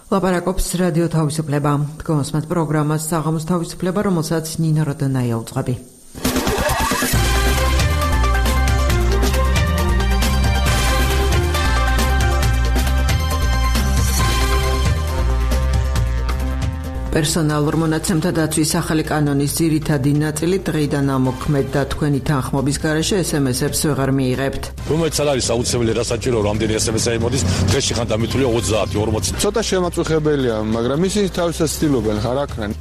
ლაპარაკობს რადიო თავისუფლება. გონსმათ პროგრამას საღამოს თავისუფლება, რომელსაც ნინა როდანაია უძღვები. პერსონალურ მონაცემთა დაცვის ახალი კანონის ძირითადი ნაწილი დღეიდან ამოქმედდა. თქვენი თანხმობის გარეშე SMS-ებს ვეღარ მიიღებთ. რომელიც არის აუცილებელი, რა საჭირო რამდენი SMS-ი მოდის, დღეში ხან დამითვლია 30-40. ცოტა შემაწუხებელია, მაგრამ ისინი თავისას ცდილობენ ხარ აქნან.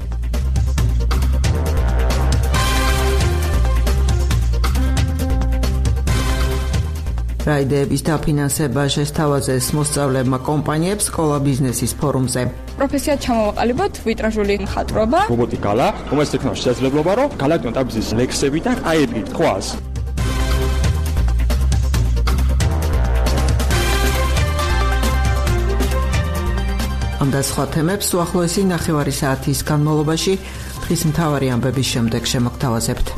რაიდეების დაფინანსება შესთავაზეს მოსწავლეებმა კომპანიებს სკოლა ბიზნესის ფორუმზე. პროფესიად ჩამოვაყალიბოთ ვიტრაჟული მხატვრობა. რობოტიკალა, რომელიც ექნება შესაძლებლობა, რომ გალაქტიონ ტაბზის ლექსები და აიები თხოვას. ამ და სხვა თემებს უახლოესი ნახევარი საათის განმავლობაში დღის მთავარი ამბების შემდეგ შემოგთავაზებთ.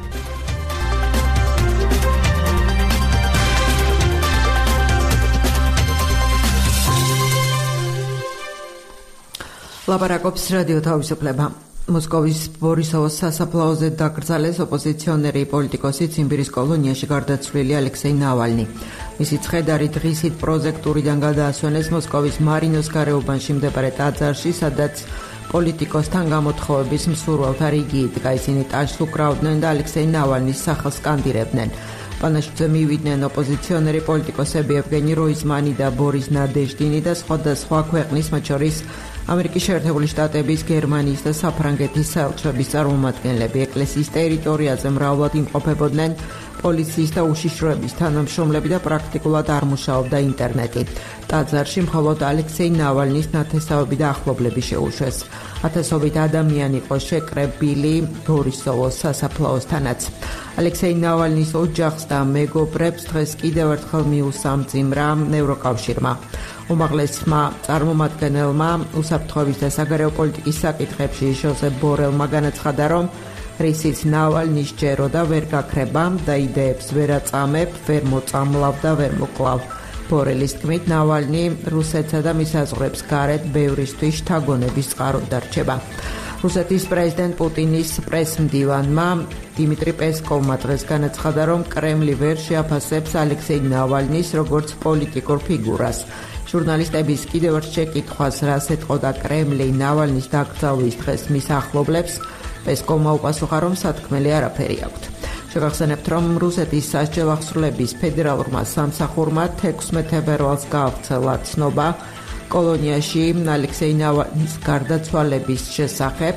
ლაპარაკობს რადიო თავისუფლება. მოსკოვის ბორისოვოს სასაფლაოზე დაკრძალეს ოპოზიციონერი პოლიტიკოსი ციმბირის კოლონიაში გარდაცვლილი ალექსეი ნავალნი. მისი ცხედარი დღისით პროჟექტურიდან გადაასვენეს მოსკოვის მარინოს გარეუბანში მდებარე ტაძარში, სადაც პოლიტიკოსთან გამოთხოვების მსურველთა რიგი იდგა. ისინი ტაჟს უკრავდნენ და ალექსეი ნავალნის სახელს სკანდირებდნენ. პანაშიძე მივიდნენ ოპოზიციონერი პოლიტიკოსები ევგენი როიზმანი და ბორის ნადეჟდინი და სხვადასხვა ქვეყნის, მათ შორის ამერიკის შეერთებული შტატების, გერმანიის და საფრანგეთის საელჩოების წარმომადგენლები. ეკლესიის ტერიტორიაზე მრავლად იმყოფებოდნენ პოლიციის და უშიშროების თანამშრომლები და პრაქტიკულად არ მუშაობდა ინტერნეტი. ტაძარში მხოლოდ ალექსეი ნავალნის ნათესავები და ახლობლები შეუშვეს. ათასობით ადამიანი იყო შეკრებილი ბორისოვოს სასაფლაოსთანაც. ალექსეი ნავალნის ოჯახს და მეგობრებს დღეს კიდევ ერთხელ მიუსამძიმრა ევროკავშირმა. უმაღლესმა წარმომადგენელმა უსაფრთხოების და საგარეო პოლიტიკის საკითხებში ჟოზეფ ბორელმა განაცხადა, რომ რისიც ნავალნი სჯერო და ვერ გაქრება და იდეებს ვერ აწამებ, ვერ მოწამლავ და ვერ მოკლავ. ბორელის თქმით, ნავალნი რუსეთსა და მის საზღვრებს გარეთ ბევრისთვის შთაგონების წყაროდ დარჩება. რუსეთის პრეზიდენტ პუტინის პრესმდივანმა დიმიტრი პესკოვმა დღეს განაცხადა, რომ კრემლი ვერ შეაფასებს ალექსეი ნავალნის როგორც პოლიტიკურ ფიგურას. ჟურნალისტების კიდევ ერთ შეკითხვას, რას ეტყოდა კრემლი ნავალნის დაკრძალვის დღეს მის ახლობლებს, პესკოვმა უპასუხა, რომ სათქმელი არაფერი აქვთ. შეგახსენებთ, რომ რუსეთის სასჯელ აღსრულების ფედერალურმა სამსახურმა 16 თებერვალს გაავრცელა ცნობა კოლონიაში ალექსეი ნავალნის გარდაცვალების შესახებ.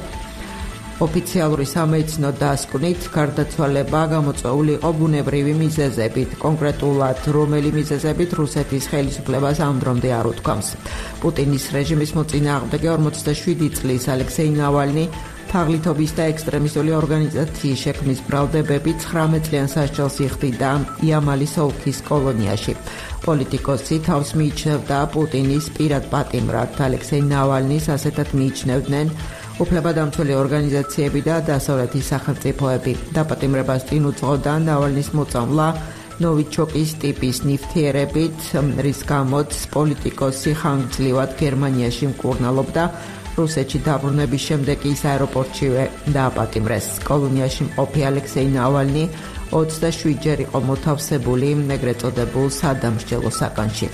ოფიციალური სამედიცინო დასკვნით გარდაცვალება გამოწვეული იყო ბუნებრივი მიზეზებით. კონკრეტულად რომელი მიზეზებით რუსეთის ხელისუფლებას ამ დრომდე არ უთქვამს. პუტინის რეჟიმის მოწინააღმდეგე 47 წლის ალექსეი ნავალნი თაღლითობის და ექსტრემისტული ორგანიზაციის შექმნის ბრალდებები 19 წლიან სასჯელს იხდიდა იამალის ოლქის კოლონიაში. პოლიტიკოსი თავს მიიჩნევდა პუტინის პირად პატიმრად. ალექსეი ნავალნის ასეთად მიიჩნევდნენ უფლებადამცველი ორგანიზაციები და დასავლეთის სახელმწიფოები. დაპატიმრებას წინ უძღოდა ნავალნის მოწამვლა ნოვიჩოკის ტიპის ნივთიერებით, რის გამოც პოლიტიკოსი ხანგრძლივად გერმანიაში მკურნალობდა. რუსეთში დაბრუნების შემდეგ ის აეროპორტშივე დააპატიმრეს. კოლონიაში მყოფი ალექსეი ნავალნი 27 ჯერ იყო მოთავსებული ეგრეთ წოდებულ სადამსჯელო საკანში.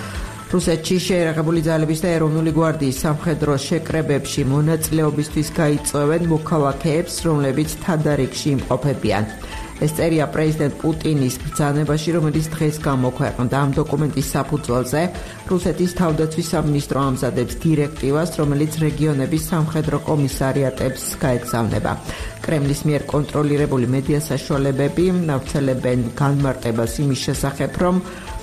რუსეთში შეერაღებული ძალების და ეროვნული გვარდიის სამხედრო შეკრებებში მონაწილეობისთვის გაიწვევენ მოქალაქეებს, რომლებიც თადარიგში იმყოფებიან. ეს წერია პრეზიდენტ პუტინის ბრძანებაში, რომელიც დღეს გამოქვეყნდა. ამ დოკუმენტის საფუძველზე რუსეთის თავდაცვის სამინისტრო ამზადებს დირექტივას, რომელიც რეგიონების სამხედრო კომისარიატებს გაეგზავნება. კრემლის მიერ კონტროლირებული მედია საშუალებები ნავრცელებენ განმარტებას იმის შესახებ, რომ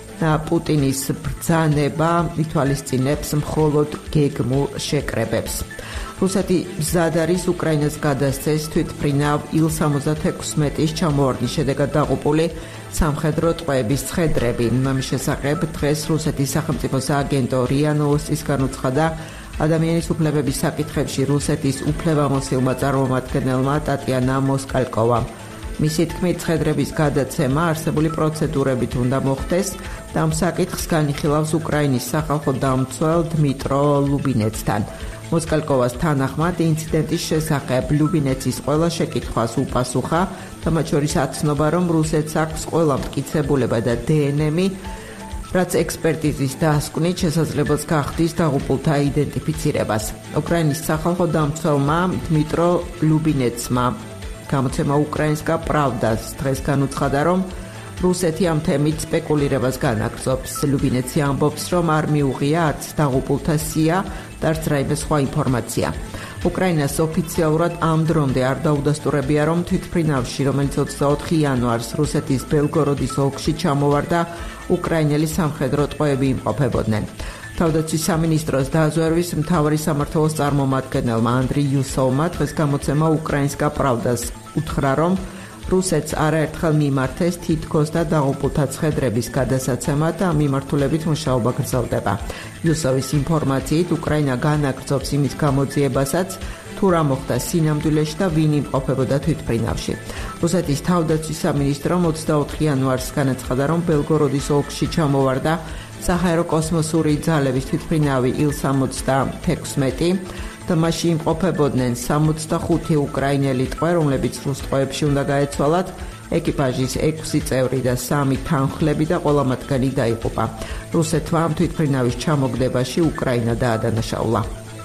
პუტინის ბრძანება ითვალისწინებს მხოლოდ გეგმურ შეკრებებს. რუსეთი მზად არის უკრაინას გადასცეს თვითმფრინავ Il-76-ის ჩამოვარდნის შედეგად დაღუპული სამხედრო ტყვეების ცხედრები. ამის შესახებ დღეს რუსეთის სახელმწიფო სააგენტო RIA Novostis განუცხადა ადამიანის უფლებების საკითხებში რუსეთის უფლებამოსილმა წარმომადგენელმა ტატიანა მოსკალკოვამ. მისი თქმით, ცხედრების გადაცემა არსებული პროცედურებით უნდა მოხდეს და ამ საკითხს განიხილავს უკრაინის სახალხო დამცველ დმიტრო ლუბინეცთან. მოსკალკოვას თანახმად, ინციდენტის შესახებ ლუბინეცის ყველა შეკითხვას უპასუხა და მათ შორის აცნობა, რომ რუსეთს აქვს ყველა მტკიცებულება და დნმ-ი, რაც ექსპერტიზის დასკვნით შესაძლებელს გახდის დაღუპულთა იდენტიფიცირებას. უკრაინის სახალხო დამცველმა დმიტრო ლუბინეცმა გამოცემა უკრაინსკა პრავდას დღეს განუცხადა, რომ რუსეთი ამ თემით სპეკულირებას განაგრძობს. ლუბინეცი ამბობს, რომ არ მიუღია არც დაღუპულთა სია და არც რაიმე სხვა ინფორმაცია. უკრაინას ოფიციალურად ამ დრომდე არ დაუდასტურებია, რომ თვითმფრინავში, რომელიც 24 იანვარს რუსეთის ბელგოროდის ოლქში ჩამოვარდა, უკრაინელი სამხედრო ტყვეები იმყოფებოდნენ. თავდაცვის სამინისტროს დაზვერვის მთავარი სამმართველოს წარმომადგენელმა ანდრი იუსოვმა დღეს გამოცემა უკრაინსკა პრავდას უთხრა, რომ რუსეთს არაერთხელ მიმართეს თითქოს და დაღუპულთა ცხედრების გადასაცემა და ამ მიმართულებით მუშაობა გრძელდება. იუსოვის ინფორმაციით, უკრაინა განაგრძობს იმის გამოძიებასაც, თუ რა მოხდა სინამდვილეში და ვინ იმყოფებოდა თვითმფრინავში. რუსეთის თავდაცვის სამინისტრომ 24 იანვარს განაცხადა, რომ ბელგოროდის ოლქში ჩამოვარდა საჰაერო კოსმოსური ძალების თვითმფრინავი Il-76 და მასში იმყოფებოდნენ 65 უკრაინელი ტყვე, რომლებიც რუს ტყვეებში უნდა გაეცვალათ, ეკიპაჟის 6 წევრი და 3 თანხლები და ყველა მათგანი დაიღუპა. რუსეთმა ამ თვითმფრინავის ჩამოგდებაში უკრაინა დაადანაშაულა.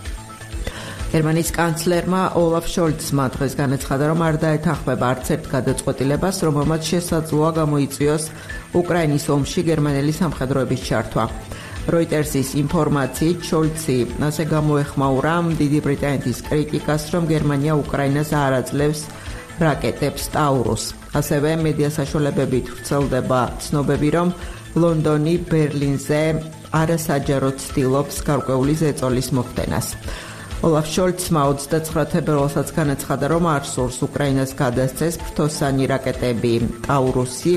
გერმანიის კანცლერმა ოლაფ შოლცმა დღეს განაცხადა, რომ არ დაეთანხმება არც ერთ გადაწყვეტილებას, რომელმაც შესაძლოა გამოიწვიოს უკრაინის ომში გერმანელი სამხედროების ჩართვა. როიტერსის ინფორმაციით, შოლცი ასე გამოეხმაურა დიდი ბრიტანეთის კრიტიკას, რომ გერმანია უკრაინას არ აძლევს რაკეტებს ტაურუს. ასევე მედია საშუალებებით ვრცელდება ცნობები, რომ ლონდონი ბერლინზე არასაჯაროდ ცდილობს გარკვეული ზეწოლის მოხდენას. ოლაფ შოლცმა 29 თებერვალსაც განაცხადა, რომ არ სურს უკრაინას გადასცეს ფრთოსანი რაკეტები ტაურუსი,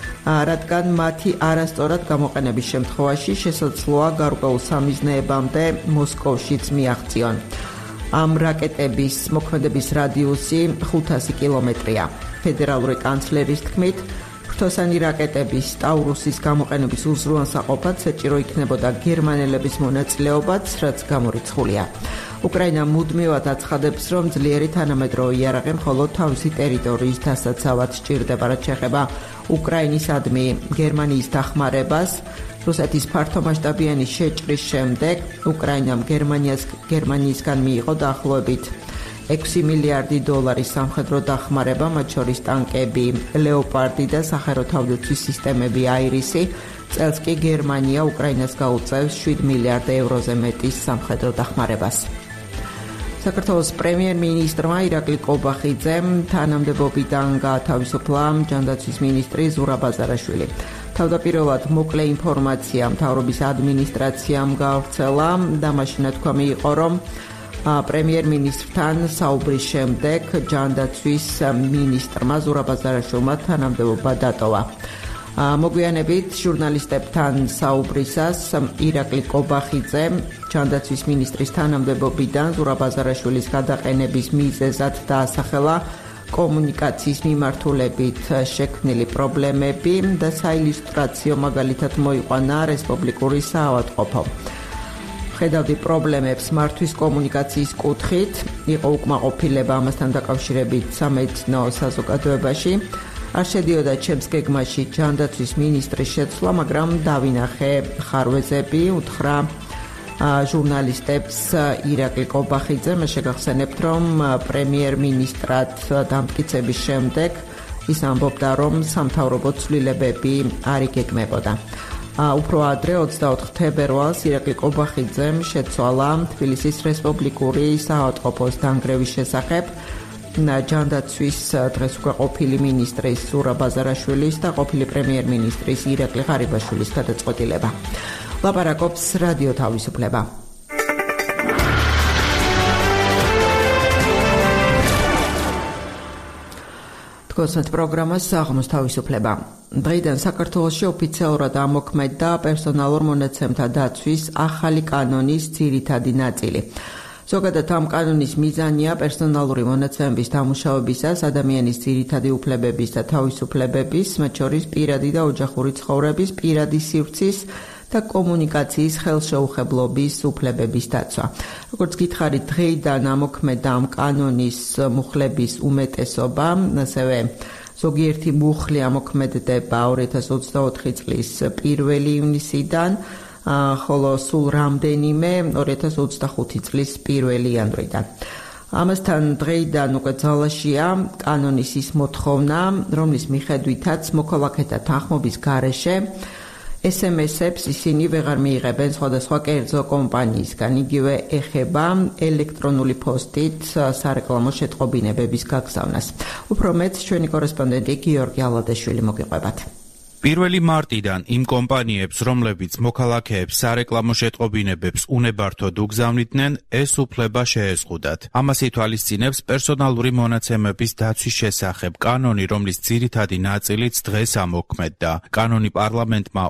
რადგან მათი არასწორად გამოყენების შემთხვევაში შესაძლოა გარკვეულ სამიზნეებამდე მოსკოვშიც მიაღწიონ. ამ რაკეტების მოქმედების რადიუსი 500 კილომეტრია. ფედერალური კანცლერის თქმით, ფრთოსანი რაკეტების ტაურუსის გამოყენების უზრუნველსაყოფად საჭირო იქნებოდა გერმანელების მონაწილეობაც, რაც გამორიცხულია. უკრაინა მუდმივად აცხადებს, რომ ძლიერი თანამედროვე იარაღი მხოლოდ თავისი ტერიტორიის დასაცავად სჭირდება, რაც შეეხება უკრაინისადმი გერმანიის დახმარებას. რუსეთის ფართომასშტაბიანი შეჭრის შემდეგ უკრაინამ გერმანიისგან მიიღო დაახლოებით 6 მილიარდი დოლარის სამხედრო დახმარება, მათ შორის ტანკები, ლეოპარდი და საჰაერო თავდაცვის სისტემები აირისი. წელს კი გერმანია უკრაინას გაუწევს 7 მილიარდ ევროზე მეტის სამხედრო დახმარებას. საქართველოს პრემიერ-მინისტრმა ირაკლი კობახიძემ თანამდებობიდან გაათავისუფლა ჯანდაცვის მინისტრი ზურაბ აზარაშვილი. თავდაპირველად მოკლე ინფორმაცია მთავრობის ადმინისტრაციამ გავრცელა და მაშინ თქვა მიიღო, რომ პრემიერ-მინისტრთან საუბრის შემდეგ ჯანდაცვის მინისტრმა ზურაბ აზარაშვილმა თანამდებობა დატოვა. მოგვიანებით ჟურნალისტებთან საუბრისას ირაკლი კობახიძე ჯანდაცვის მინისტრის თანამდებობიდან ზურაბ აზარაშვილის გადაყენების მიზეზად დაასახელა კომუნიკაციის მიმართულებით შექმნილი პრობლემები და საილუსტრაციო მაგალითად მოიყვანა რესპუბლიკური საავადმყოფო. ხედავდი პრობლემებს მართვის კომუნიკაციის კუთხით, იყო უკმაყოფილება ამასთან დაკავშირებით სამედიცინო საზოგადოებაში. არ შედიოდა ჩემს გეგმაში ჯანდაცვის მინისტრის შეცვლა, მაგრამ დავინახე ხარვეზები, უთხრა ჟურნალისტებს ირაკლი კობახიძე. მე შეგახსენებთ, რომ პრემიერ-მინისტრად დამტკიცების შემდეგ ის ამბობდა, რომ სამთავრობო ცვლილებები არ იგეგმებოდა. უფრო ადრე 24 თებერვალს ირაკლი კობახიძემ შეცვალა თბილისის რესპუბლიკური საავადმყოფოს დანგრევის შესახებ ჯანდაცვის დღეს უკვე ყოფილი მინისტრის ზურაბ აზარაშვილის და ყოფილი პრემიერ-მინისტრის ირაკლი ღარიბაშვილის გადაწყვეტილება. ლაპარაკობს რადიო თავისუფლება. თქოსმეთ პროგრამას საღამოს თავისუფლება. დღეიდან საქართველოში ოფიციალურად ამოქმედდა პერსონალურ მონაცემთა დაცვის ახალი კანონის ძირითადი ნაწილი. ზოგადად ამ კანონის მიზანია პერსონალური მონაცემების დამუშავებისას ადამიანის ძირითადი უფლებების და თავისუფლებების, მათ შორის პირადი და ოჯახური ცხოვრების, პირადი სივრცის და კომუნიკაციის ხელშეუხებლობის უფლებების დაცვა. როგორც გითხარით, დღეიდან ამოქმედა ამ კანონის მუხლების უმეტესობა, ასევე ზოგიერთი მუხლი ამოქმედდება 2024 წლის 1 ივნისიდან, ხოლო სულ რამდენიმე 2025 წლის 1 იანვრიდან. ამასთან დღეიდან უკვე ძალაშია კანონის ის მოთხოვნა, რომლის მიხედვითაც მოქალაქეთა თანხმობის გარეშე SMS-ებს ისინი ვეღარ მიიღებენ სხვადასხვა კერძო კომპანიისგან. იგივე ეხება ელექტრონული პოსტით სარეკლამო შეტყობინებების გაგზავნას. უფრო მეტ ჩვენი კორესპონდენტი გიორგი ალადეშვილი მოგიყვებათ. 1 მარტიდან იმ კომპანიებს, რომლებიც მოქალაქეებს სარეკლამო შეტყობინებებს უნებართოდ უგზავნიდნენ, ეს უფლება შეეზღუდათ. ამას ითვალისწინებს პერსონალური მონაცემების დაცვის შესახებ კანონი, რომლის ძირითადი ნაწილიც დღეს ამოქმედდა. კანონი პარლამენტმა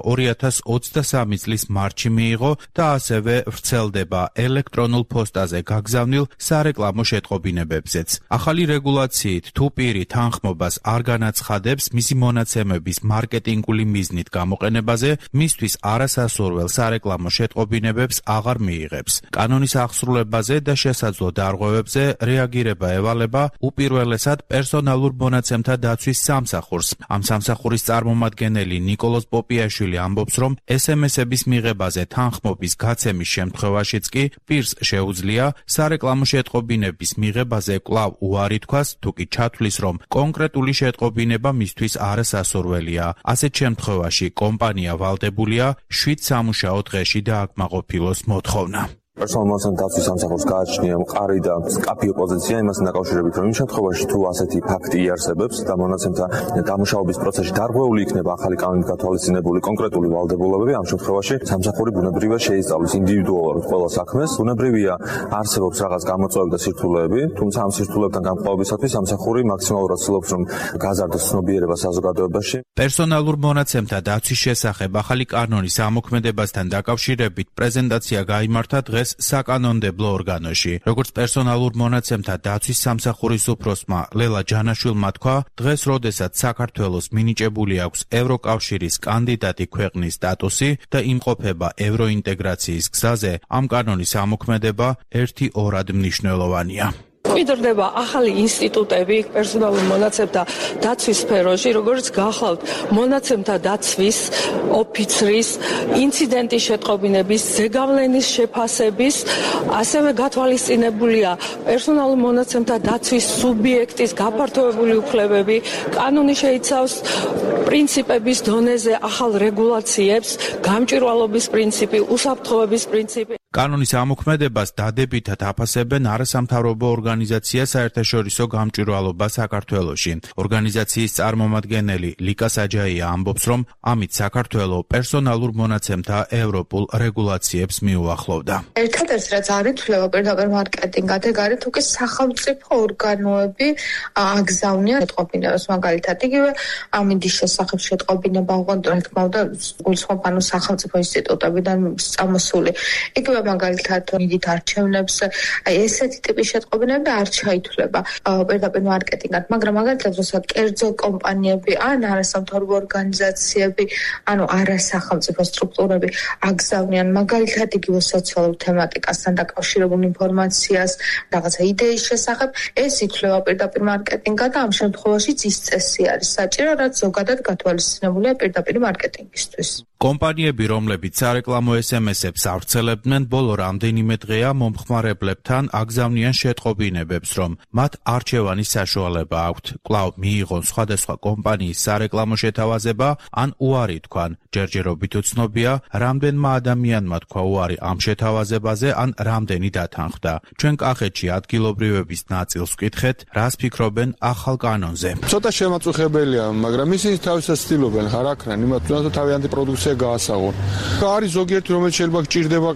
2023 წლის მარტში მიიღო და ასევე ვრცელდება ელექტრონულ პოსტაზე გაგზავნილ სარეკლამო შეტყობინებებზეც. ახალი რეგულაციით თუ პირი თანხმობას არ განაცხადებს მისი მონაცემების მარკეტინგ მიზნით გამოყენებაზე, მისთვის არასასურველ სარეკლამო შეტყობინებებს აღარ მიიღებს. კანონის აღსრულებაზე და შესაძლო დარღვევებზე რეაგირება ევალება უპირველესად პერსონალურ მონაცემთა დაცვის სამსახურს. ამ სამსახურის წარმომადგენელი ნიკოლოზ პოპიაშვილი ამბობს, რომ SMS-ების მიღებაზე თანხმობის გაცემის შემთხვევაშიც კი პირს შეუძლია სარეკლამო შეტყობინების მიღებაზე კვლავ უარი თქვას, თუ კი ჩათვლის, რომ კონკრეტული შეტყობინება მისთვის არასასურველია. ასეთ შემთხვევაში კომპანია ვალდებულია 7 სამუშაო დღეში დააკმაყოფილოს მოთხოვნა. პერსონალურ მონაცემთა დაცვის სამსახურს გააჩნია მყარი და მკაფიო პოზიცია იმასთან დაკავშირებით, რომ იმ შემთხვევაში თუ ასეთი ფაქტი იარსებებს და მონაცემთა დამუშავების პროცესში დარღვეული იქნება ახალი კანონით გათვალისწინებული კონკრეტული ვალდებულებები, ამ შემთხვევაში სამსახური ბუნებრივია შეისწავლის ინდივიდუალურად ყველა საქმეს. ბუნებრივია არსებობს რაღაც გამოწვევები და სირთულეები, თუმცა ამ სირთულეებთან გამკლავებისათვის სამსახური მაქსიმალურად ცდილობს, რომ გაზარდოს ცნობიერება საზოგადოებაში. პერსონალურ მონაცემთა დაცვის შესახებ ახალი კანონის ამოქმედებასთან დაკავშირებით პრეზენტაცია გაიმართა დღეს საკანონმდებლო ორგანოში. როგორც პერსონალურ მონაცემთა დაცვის სამსახურის უფროსმა ლელა ჯანაშვილმა თქვა, დღეს როდესაც საქართველოს მინიჭებული აქვს ევროკავშირის კანდიდატი ქვეყნის სტატუსი და იმყოფება ევროინტეგრაციის გზაზე, ამ კანონის ამოქმედება ერთი-ორად მნიშვნელოვანია. იდრდება ახალი ინსტიტუტები პერსონალურ მონაცემთა დაცვის სფეროში, როგორც გახლავთ მონაცემთა დაცვის ოფიცრის, ინციდენტის შეტყობინების, ზეგავლენის შეფასების, ასევე გათვალისწინებულია პერსონალურ მონაცემთა დაცვის სუბიექტის გაფართოებული უფლებები. კანონი შეიცავს პრინციპების დონეზე ახალ რეგულაციებს, გამჭვირვალობის პრინციპი, უსაფრთხოების პრინციპი. კანონის ამოქმედებას დადებითად აფასებენ არასამთავრობო ორგანიზაცია საერთაშორისო გამჭვირვალობა საქართველოში. ორგანიზაციის წარმომადგენელი ლიკა საჯაია ამბობს, რომ ამით საქართველო პერსონალურ მონაცემთა ევროპულ რეგულაციებს მიუახლოვდა. ერთადერთი რაც არ ითვლება პირდაპირ მარკეტინგად, ეგ არის თუ კი სახელმწიფო ორგანოები აგზავნიან შეტყობინებას, მაგალითად იგივე ამინდის შესახებ შეტყობინება, ოღონდ რა თქმა უნდა გულისხმობ ანუ სახელმწიფო ინსტიტუტებიდან წამოსული. იგივე მაგალითად მიდით არჩევნებს, ესეთი ტიპის შეტყობინები არ ჩაითვლება პირდაპირ მარკეტინგად, მაგრამ მაგალითად როცა კერძო კომპანიები ან არასამთავრობო ორგანიზაციები, ანუ არასახელმწიფო სტრუქტურები აგზავნიან მაგალითად იგივე სოციალურ თემატიკასთან დაკავშირებულ ინფორმაციას, რაღაცა იდეის შესახებ, ეს ითვლება პირდაპირ მარკეტინგად და ამ შემთხვევაშიც ის წესი არის საჭირო, რაც ზოგადად გათვალისწინებულია პირდაპირ მარკეტინგისთვის. კომპანიები, რომლებიც სარეკლამო SMS-ებს ავრცელებდნენ, ბოლო რამდენიმე დღეა მომხმარებლებთან აგზავნიან შეტყობინებებს, რომ მათ არჩევანის საშუალება აქვთ, კვლავ მიიღონ სხვადასხვა კომპანიის სარეკლამო შეთავაზება, ან უარი თქვან. ჯერჯერობით უცნობია, რამდენმა ადამიანმა თქვა უარი ამ შეთავაზებაზე, ან რამდენი დათანხმდა. ჩვენ კახეთში ადგილობრივების ნაწილს ვკითხეთ, რას ფიქრობენ ახალ კანონზე. ცოტა შემაწუხებელია, მაგრამ ისინი თავისას ცდილობენ ხარ აქრან, იმათ თუნდაც თავიანთი პროდუქცია გაასაღონ. არის ზოგიერთი, რომელიც შეიძლება გჭირდება კიდეც.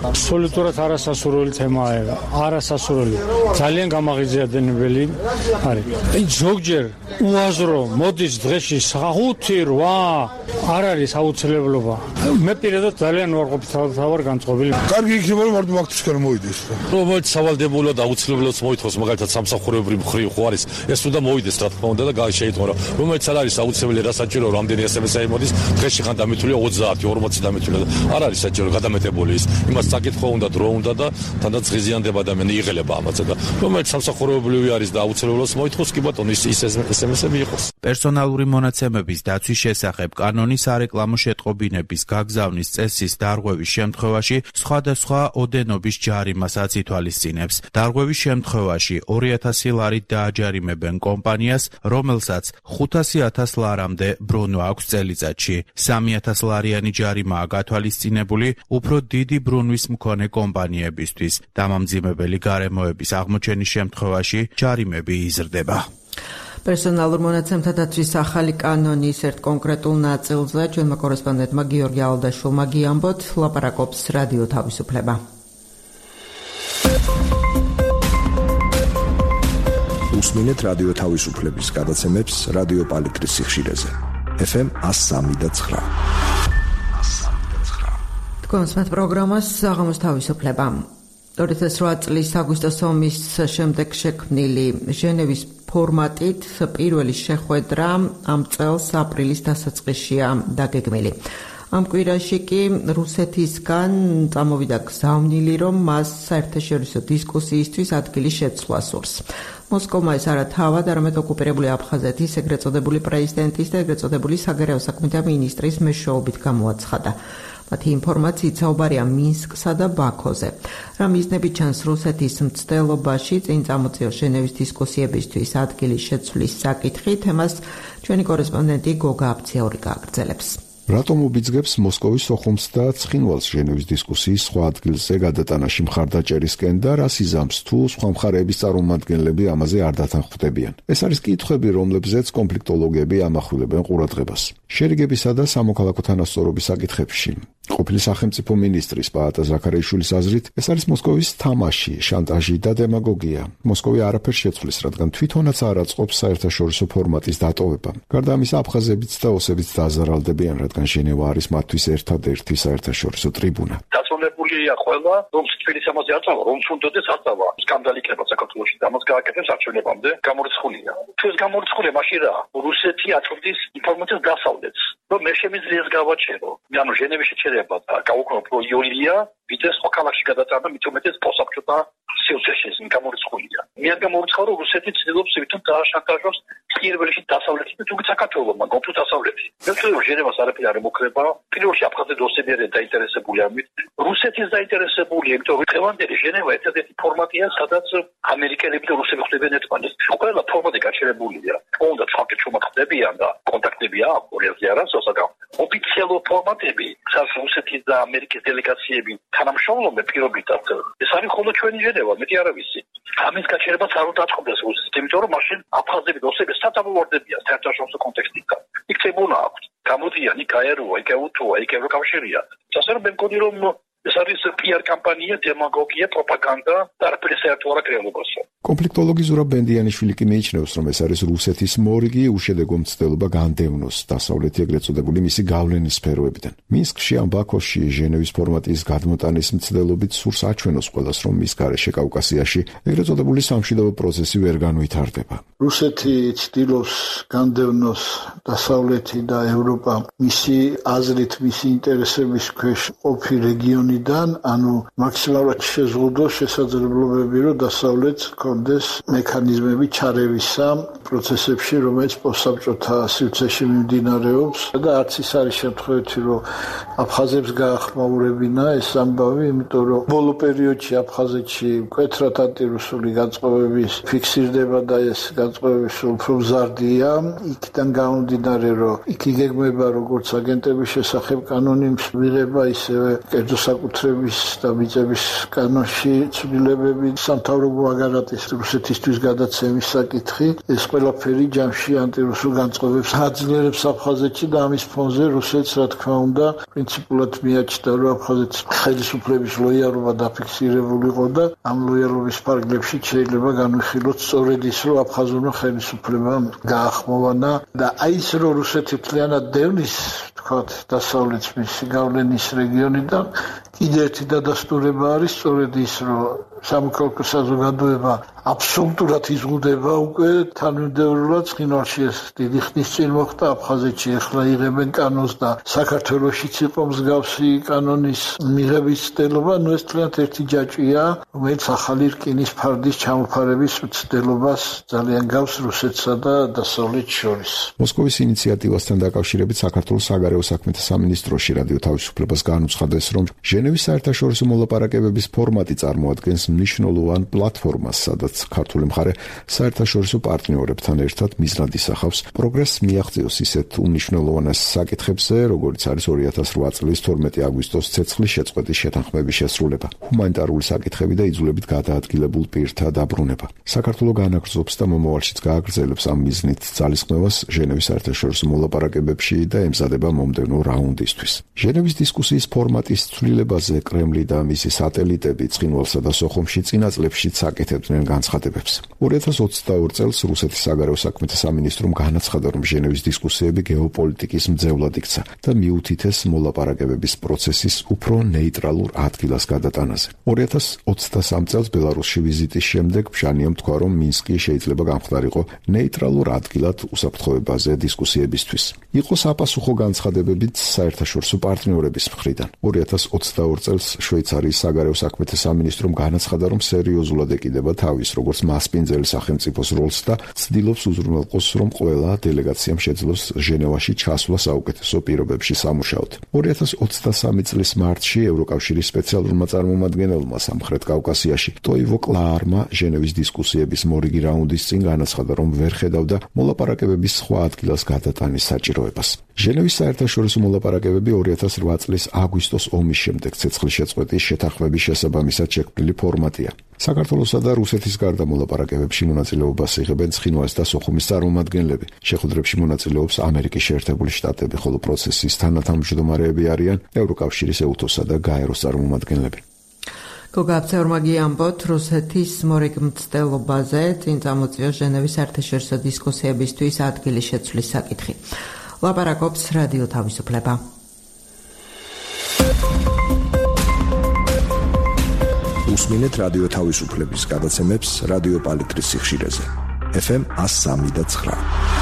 აბსოლუტურად არასასურველი თემაა, არასასურველი. ძალიან გამაღიზიანებელი არის. აი ზოგჯერ უაზრო მოდის დღეში 5-8 არ არის აუცილებლობა. მე პირადად ძალიან ვარ განწყობილი. კარგი იქნება რომ მარტო აქთისკენ მოვიდეს. რომელიც სავალდებულო და აუცილებლად მოითხოვს მაგალითად სამსახურებრივ მხრივ ხო არის ეს უნდა მოვიდეს რა თქმა უნდა და შეიტყო რომ რომელიც არ არის აუცილებელი რა საჭირო რამდენი SMS-ი მოდის დღეში ხან დამითვლია 30 40 დამითვლია არ არის საჭირო გადამეტებული ის იმას საკითხო უნდა დრო უნდა და თანდაც ღიზიანდება ადამიანი იღელება ამაზე და რომელიც სამსახურებრივი არის და აუცილებლად მოითხოვს კი ბატონო ის SMS-ები იყოს. პერსონალური მონაცემების დაცვის შესახებ კანონის სარეკლამო შეტყობინების გაგზავნის წესის დარღვევის შემთხვევაში სხვადასხვა ოდენობის ჯარიმასაც ითვალისწინებს. დარღვევის შემთხვევაში 2000 ლარით დააჯარიმებენ კომპანიას, რომელსაც 500,000 ლარამდე ბრუნვა აქვს წელიწადში. 3000 ლარიანი ჯარიმაა გათვალისწინებული უფრო დიდი ბრუნვის მქონე კომპანიებისთვის. დამამძიმებელი გარემოების აღმოჩენის შემთხვევაში ჯარიმები იზრდება. პერსონალურ მონაცემთა დაცვის ახალი კანონის ერთ კონკრეტულ ნაწილზე ჩვენმა კორესპონდენტმა გიორგი ალდაშვილმა გიამბოთ, ლაპარაკობს რადიო თავისუფლება. უსმინეთ რადიო თავისუფლების გადაცემებს რადიო პალიტრის სიხშირეზე. FM 103.9. თქვენს პროგრამას საღამოს თავისუფლება. 2008 წლის აგვისტოს ომის შემდეგ შექმნილი ჟენევის ფორმატით პირველი შეხვედრა ამ წელს აპრილის დასაწყისშია დაგეგმილი. ამ კვირაში კი რუსეთისგან წამოვიდა გზავნილი, რომ მას საერთაშორისო დისკუსიისთვის ადგილი შეცვლა სურს. მოსკოვმა ეს არა თავად, არამედ ოკუპირებული აფხაზეთის ეგრეთ წოდებული პრეზიდენტის და ეგრეთ წოდებული საგარეო საქმეთა მინისტრის მეშვეობით გამოაცხადა. მათი ინფორმაციით საუბარია მინსკსა და ბაქოზე. რა მიზნები ჩანს რუსეთის მცდელობაში წინ წამოწიოს ჟენევის დისკუსიებისთვის ადგილის შეცვლის საკითხი, თემას ჩვენი კორესპონდენტი გოგა აფციური გააგრძელებს. რატომ უბიძგებს მოსკოვის სოხუმს და ცხინვალს ჟენევის დისკუსიის სხვა ადგილზე გადატანაში მხარდაჭერისკენ და რას იზამს თუ სხვა მხარეების წარმომადგენლები ამაზე არ დათანხმდებიან? ეს არის კითხვები, რომლებზეც კონფლიქტოლოგები ამახვილებენ ყურადღებას. შერიგებისა და სამოქალაქო თანასწორობის საკითხებში ყოფილი სახელმწიფო მინისტრის პაატა ზაქარიაშვილის აზრით, ეს არის მოსკოვის თამაში, შანტაჟი და დემაგოგია. მოსკოვი არაფერს შეცვლის, რადგან თვითონაც არ აწყობს საერთაშორისო ფორმატის დატოვება. გარდა ამისა, აფხაზებიც და ოსებიც დაზარალდებიან, რადგან ჟენევა არის მათთვის ერთადერთი საერთაშორისო ტრიბუნა. დასრულებულია ყველა, რომ თბილისს ამაზე აწავა, რომ თუნდაც აწავა. სკანდალი იქნება საქართველოში და მას გააკეთებს არჩევნებამდე გამორიცხულია. თუ ეს გამორიცხულია მაშინ რა? რუსეთი აწვდის ინფორმაციას დასავლეთს. რომ მე შემიძლია ეს გავაჩერო. ანუ ჟენევის შეჩერება და გაუქმება პრო იოლია, ვიდრე სხვა ქალაქში გადატანა, მით უმეტეს პოსაბჭოთა სივრცეში ეს გამორიცხულია. მე არ გამორიცხავ, რომ რუსეთი ცდილობს ვითომ დააშანტაჟოს პირველში დასავლეთი და თუნდაც საქართველოს, მაგრამ თუ დასავლეთი. მე ვთქვი, რომ ჟენევას არაფერი არ ემუქრება. პირველში აფხაზები და ოსები არიან დაინტერესებული ამით. რუსეთის დაინტერესებულია, იმიტომ რომ დღევანდელი ჟენევა ერთადერთი ფორმატია, სადაც ამერიკელები და რუსები ხდებიან ერთმანეთს. ყველა ფორმატი გაჩერებულია. თუნდაც ხალხი ჩუმატყდებიან და კონტაქტები აქვს ორიაზე არასო, მაგრამ ოფიციალურ ფორმატები, სადაც რუსეთის და ამერიკის დელეგაციები თანამშრომლობენ პირობითად, ეს არის მხოლოდ ჩვენი ჟენევა, მეტი არ ვიცი. ამის გაჩერებას არ უნდა აწყდეს რუსეთი, იმიტომ რომ მაშინ აფხაზები და ოსები სათამაშოებიან საერთაშორისო კონტექსტიდან. იქ ტრიბუნა აქვს, გამოდიან, იქ აეროა, იქ უთუა, იქ ევროკავშირია. ასე რომ მე მგონი რომ ეს არის PR კამპანია, დემაგოგია, პროპაგანდა და არაფერი საერთო არ აქვს რეალობასო. კონფლიქტოლოგი ზურაბ ბენდიანიშვილი კი მიიჩნევს, რომ ეს არის რუსეთის მორიგი უშედეგო მცდელობა განდევნოს დასავლეთი ეგრეთ წოდებული მისი გავლენის სფეროებიდან. მინსკში ან ბაქოში ჟენევის ფორმატის გადმოტანის მცდელობით სურს აჩვენოს ყველას, რომ მის გარეშე კავკასიაში ეგრეთ წოდებული სამშვიდობო პროცესი ვერ განვითარდება. რუსეთი ცდილობს განდევნოს დასავლეთი და ევროპა მისი აზრით, მისი ინტერესების ქვეშ ყოფი რეგიონიდან, ანუ მაქსიმალურად შეზღუდოს შესაძლებლობები, რომ დასავლეთს კონდეს მექანიზმები ჩარევისა პროცესებში, რომელიც პოსტსაბჭოთა სივრცეში მიმდინარეობს და არც ის არის შემთხვევით, რომ აფხაზებს გაახმაურებინა ეს ამბავი, იმიტომ რომ ბოლო პერიოდში აფხაზეთში მკვეთრად ანტირუსული განწყობების ფიქსირდება და ეს განწყობები უფრო მზარდია. იქიდან გამომდინარე, რომ იქ იგეგმება როგორც აგენტების შესახებ კანონის მიღება, ისევე კერძო საკუთრების და მიწების კანონში ცვლილებები, სამთავრობო აგარატის რუსეთისთვის გადაცემის საკითხი, ეს ყველაფერი ჯამში ანტირუსულ განწყობებს აძლიერებს აფხაზეთში და ამის ფონზე რუსეთს რა თქმა უნდა პრინციპულად მიაჩნდა, რომ აფხაზეთის ხელისუფლების ლოიალობა დაფიქსირებული იყო და ამ ლოიალობის ფარგლებში შეიძლება განვიხილოთ სწორედ ის, რომ აფხაზურმა ხელისუფლებამ გაახმოვანა და აი ის, რომ რუსეთი მთლიანად დევნის თქვათ დასავლეთ მისი გავლენის რეგიონიდან კიდევ ერთი დადასტურება არის სწორედ ის, რომ სამოქალაქო საზოგადოება აბსოლუტურად იზღუდება უკვე თანმიმდევრულად ცხინვალში ეს დიდი ხნის წინ მოხდა აფხაზეთში ახლა იღებენ კანონს და საქართველოშიც იყო მსგავსი კანონის მიღების ცდელობა, ნუ ეს თლიანად ერთი ჯაჭვია, რომელიც ახალი რკინის ფარდის ჩამოფარების ცდელობას ძალიან გავს რუსეთსა და დასავლეთს შორის. მოსკოვის ინიციატივასთან დაკავშირებით საქართველოს საგარეო საქმეთა სამინისტროში რადიო თავისუფლებას განუცხადეს, რომ ჟენევის საერთაშორისო მოლაპარაკებების ფორმატი წარმოადგენს მნიშვნელოვან პლატფორმას, სადაც ქართული მხარე საერთაშორისო პარტნიორებთან ერთად მიზნად ისახავს პროგრესს მიაღწევს ისეთ უმნიშვნელოვანეს საკითხებზე, როგორიც არის 2008 წლის 12 აგვისტოს ცეცხლის შეწყვეტის შეთანხმების შესრულება, ჰუმანიტარული საკითხები და იძულებით გადაადგილებულ პირთა დაბრუნება. საქართველო განაგრძობს და მომავალშიც გააგრძელებს ამ მიზნით ძალისხმევას ჟენევის საერთაშორისო მოლაპარაკებებში და ემზადება მომდევნო რაუნდისთვის. ჟენევის დისკუსიის ფორმატის ცვლილებაზე კრემლი და მისი სატელიტები ცხინვალსა და სოხუმში წინა წლებშიც აკეთებდნენ განცხადებებს. 2022 წელს რუსეთის საგარეო საქმეთა სამინისტრომ განაცხადა, რომ ჟენევის დისკუსიები გეოპოლიტიკის მძევლად იქცა და მიუთითეს მოლაპარაკებების პროცესის უფრო ნეიტრალურ ადგილას გადატანაზე. 2023 წელს ბელარუსში ვიზიტის შემდეგ ფშანიამ თქვა, რომ მინსკი შეიძლება გამხდარიყო ნეიტრალურ ადგილად უსაფრთხოებაზე დისკუსიებისთვის. იყო საპასუხო განცხადებებიც საერთაშორისო პარტნიორების მხრიდან. 2022 წელს შვეიცარიის საგარეო საქმეთა სამინისტრომ განაცხადა, რომ სერიოზულად ეკიდება თავის როგორც მასპინძელი სახელმწიფოს როლს და ცდილობს უზრუნველყოს, რომ ყველა დელეგაციამ შეძლოს ჟენევაში ჩასვლა საუკეთესო პირობებში სამუშაოდ. 2023 წლის მარტში ევროკავშირის სპეციალურმა წარმომადგენელმა სამხრეთ კავკასიაში ტოივო კლაარმა ჟენევის დისკუსიების მორიგი რაუნდის წინ განაცხადა, რომ ვერ ხედავდა მოლაპარაკებების სხვა ადგილას გადატანის საჭიროებას. ჟენევის საერთაშორისო მოლაპარაკებები 2008 წლის აგვისტოს ომის შემდეგ ცეცხლის შეწყვეტის შეთანხმების შესაბამისად შექმნილი ფორმატია. საქართველოსა და რუსეთის გარდა მოლაპარაკებებში მონაწილეობას იღებენ ცხინვალის და სოხუმის წარმომადგენლები. შეხვედრებში მონაწილეობს ამერიკის შეერთებული შტატები, ხოლო პროცესის თანათავმჯდომარეები არიან ევროკავშირის ეუთოსა და გაეროს წარმომადგენლები. გოგა აბცევრმაგი ამბობთ რუსეთის მორიგ მცდელობაზე წინ წამოწია ჟენევის საერთაშორისო დისკუსიებისთვის ადგილის შეცვლის საკითხი. ლაპარაკობს რადიო თავისუფლება. უსმინეთ რადიო თავისუფლების გადაცემებს რადიო პალიტრის სიხშირეზე. FM 103.9.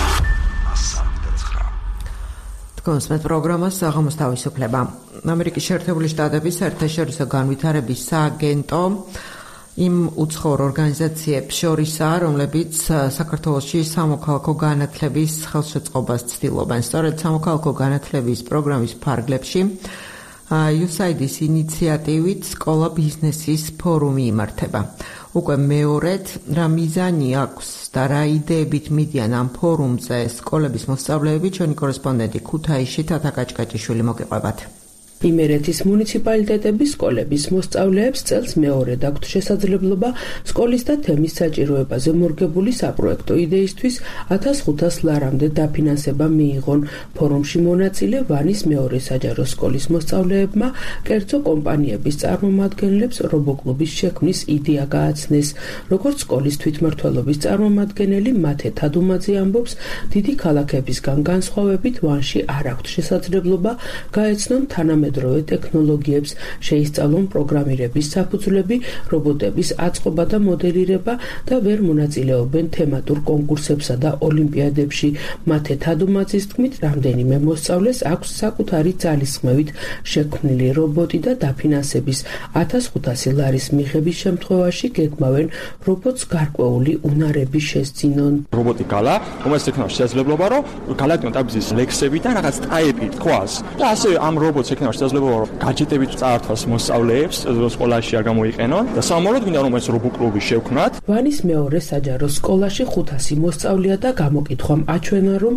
კონსმეთ პროგრამას საღამოს თავისუფლება. ამერიკის შეერთებული შტატების საერთაშორისო განვითარების სააგენტო იმ უცხოურ ორგანიზაციებს შორისაა, რომლებიც საქართველოში სამოქალაქო განათლების ხელშეწყობას ცდილობენ. სწორედ სამოქალაქო განათლების პროგრამის ფარგლებში USAID-ის ინიციატივით სკოლა ბიზნესის ფორუმი იმართება. უკვე მეორედ რა მიზანი აქვს და რა იდეებით მიდიან ამ ფორუმზე სკოლების მოსწავლეები, ჩვენი კორესპონდენტი ქუთაისში თათა კაჭკაჭიშვილი მოგიყვებათ. იმერეთის მუნიციპალიტეტების სკოლების მოსწავლეებს წელს მეორედ აქვთ შესაძლებლობა სკოლის და თემის საჭიროებაზე მორგებული საპროექტო იდეისთვის 1500 ლარამდე დაფინანსება მიიღონ. ფორუმში მონაწილე ვანის მეორე საჯარო სკოლის მოსწავლეებმა კერძო კომპანიების წარმომადგენლებს რობოკლუბის შექმნის იდეა გააცნეს. როგორც სკოლის თვითმმართველობის წარმომადგენელი მათე თადუმაძე ამბობს, დიდი ქალაქებისგან განსხვავებით ვანში არ აქვთ შესაძლებლობა გაეცნონ თანამედროვე ტექნოლოგიებს, შეისწავლონ პროგრამირების საფუძვლები, რობოტების აწყობა და მოდელირება და ვერ მონაწილეობენ თემატურ კონკურსებსა და ოლიმპიადებში. მათე თადუმაძის თქმით, რამდენიმე მოსწავლეს აქვს საკუთარი ძალისხმევით შექმნილი რობოტი და დაფინანსების 1500 ლარის მიღების შემთხვევაში გეგმავენ რობოტს გარკვეული უნარები შესძინონ. რობოტი გალა, რომელსაც ექნება შესაძლებლობა, რომ გალაკტიონ ტაბის ლექსები და რაღაც ტაიპი თქვას და ასე ამ რობოტს ექნება შესაძლებლობა რომ გაჯეტებით წაართვას მოსწავლეებს სკოლაში არ გამოიყენონ და სამომავლოდ მინდა რომ ეს რობო-კლუბი შევქმნათ. ვანის მეორე საჯარო სკოლაში 500 მოსწავლეა და გამოკითხვამ აჩვენა რომ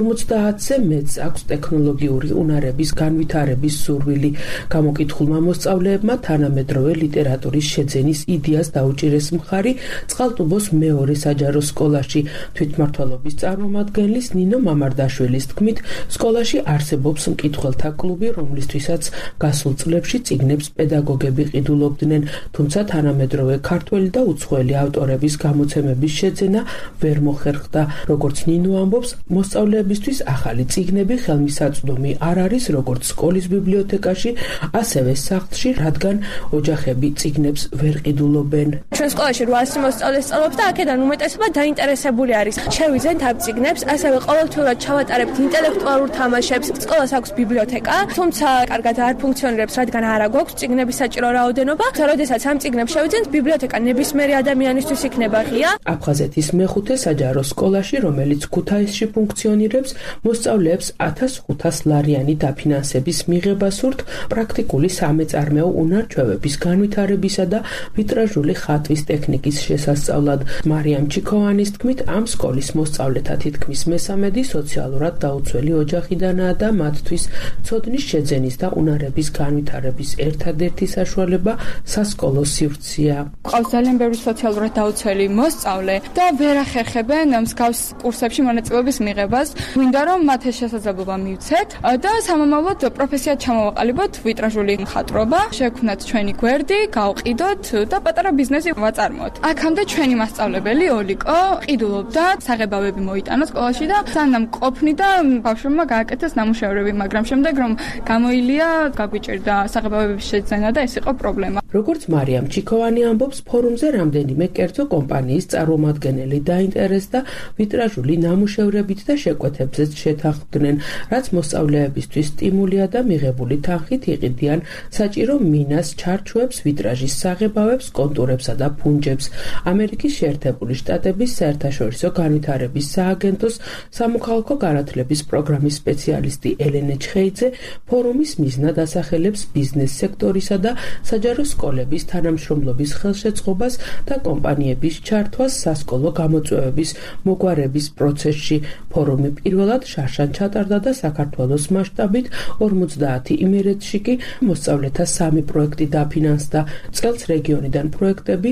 50-ზე მეტს აქვს ტექნოლოგიური უნარების განვითარების სურვილი. გამოკითხულმა მოსწავლეებმა თანამედროვე ლიტერატურის შეძენის იდეას დაუჭირეს მხარი წყალტუბოს მეორე საჯარო სკოლაში. თვითმმართველობის წარმომადგენლის ნინო მამარდაშვილის თქმით, სკოლაში არსებობს მკითხველთა კლუბი, რომლისთვისაც გასულ წლებში წიგნებს პედაგოგები ყიდულობდნენ, თუმცა თანამედროვე ქართველი და უცხოელი ავტორების გამოცემების შეძენა ვერ მოხერხდა. როგორც ნინო ამბობს, მოსწავლეებისთვის ახალი წიგნები ხელმისაწვდომი არ არის როგორც სკოლის ბიბლიოთეკაში, ასევე სახლში, რადგან ოჯახები წიგნებს ვერ ყიდულობენ. ჩვენ სკოლაში 800 მოსწავლე სწავლობს და აქედან უმეტესობა დაინტერესებული არის. შევიძენთ ამ წიგნებს, ასევე ყოველთვიურად ჩავატარებთ ინტელექტუალურ თამაშებს. სკოლას აქვს ბიბლიოთეკა, თუმცა კარგად არ ფუნქციონირებს, რადგან არ აქვს წიგნების საჭირო რაოდენობა. როდესაც ამ წიგნებს შევიძენთ, ბიბლიოთეკა ნებისმიერი ადამიანისთვის იქნება ღია. აფხაზეთის მეხუთე საჯარო სკოლაში, რომელიც ქუთაისში ფუნქციონირებს, მოსწავლეებს 1500 ლარიანი დაფინანსების მიღება სურთ პრაქტიკული სამეწარმეო უნარ-ჩვევების განვითარებისა და ვიტრაჟული ხატვის ტექნიკის შესასწავლად. მარიამ ჩიქოვანის თქმით, ამ სკოლის მოსწავლეთა თითქმის მესამედი სოციალურად დაუცველი ოჯახიდანაა და მათთვის ცოდნის შეძენის და უნარების განვითარების ერთადერთი საშუალება სასკოლო სივრცეა. ყავს ძალიან ბევრი სოციალურად დაუცველი მოსწავლე და ვერ ახერხებენ მსგავს კურსებში მონაწილეობის მიღებას. მინდა რომ მათ ეს შესაძლებლობა მივცეთ და სამომავლოდ პროფესიად ჩამოვაყალიბოთ ვიტრაჟული მხატვრობა, შევქმნათ ჩვენი გვერდი, გავყიდოთ და პატარა ბიზნესი ვაწარმოოთ. აქამდე ჩვენი მასწავლებელი ოლიკო ყიდულობდა, საღებავები მოიტანა სკოლაში და სანამ ყოფნი და ბავშვებმა გააკეთეს ნამუშევრები, მაგრამ შემდეგ რომ გამოილია, გაგვიჭირდა საღებავების შეძენა და ეს იყო პრობლემა. როგორც მარიამ ჩიქოვანი ამბობს, ფორუმზე რამდენიმე კერძო კომპანიის წარმომადგენელი დაინტერესდა ვიტრაჟული ნამუშევრებით და შეკვეთებზეც შეთანხმდნენ, რაც მოსწავლეებისთვის სტიმულია და მიღებული თანხით იყიდიან საჭირო მინას, ჩარჩოებს, ვიტრაჟის საღებავებს, კონტურებსა და ფუნჯებს. ამერიკის შეერთებული შტატების საერთაშორისო განვითარების სააგენტოს სამოქალაქო განათლების პროგრამის სპეციალისტი ელენე ჩხეიძე ფორუმის მიზნად ასახელებს ბიზნეს სექტორისა და საჯარო სკოლების თანამშრომლობის ხელშეწყობას და კომპანიების ჩართვას სასკოლო გამოწვევების მოგვარების პროცესში. ფორუმი პირველად შარშან ჩატარდა და საქართველოს მასშტაბით 50 იმერეთში კი მოსწავლეთა 3 პროექტი დაფინანსდა. წელს რეგიონიდან პროექტები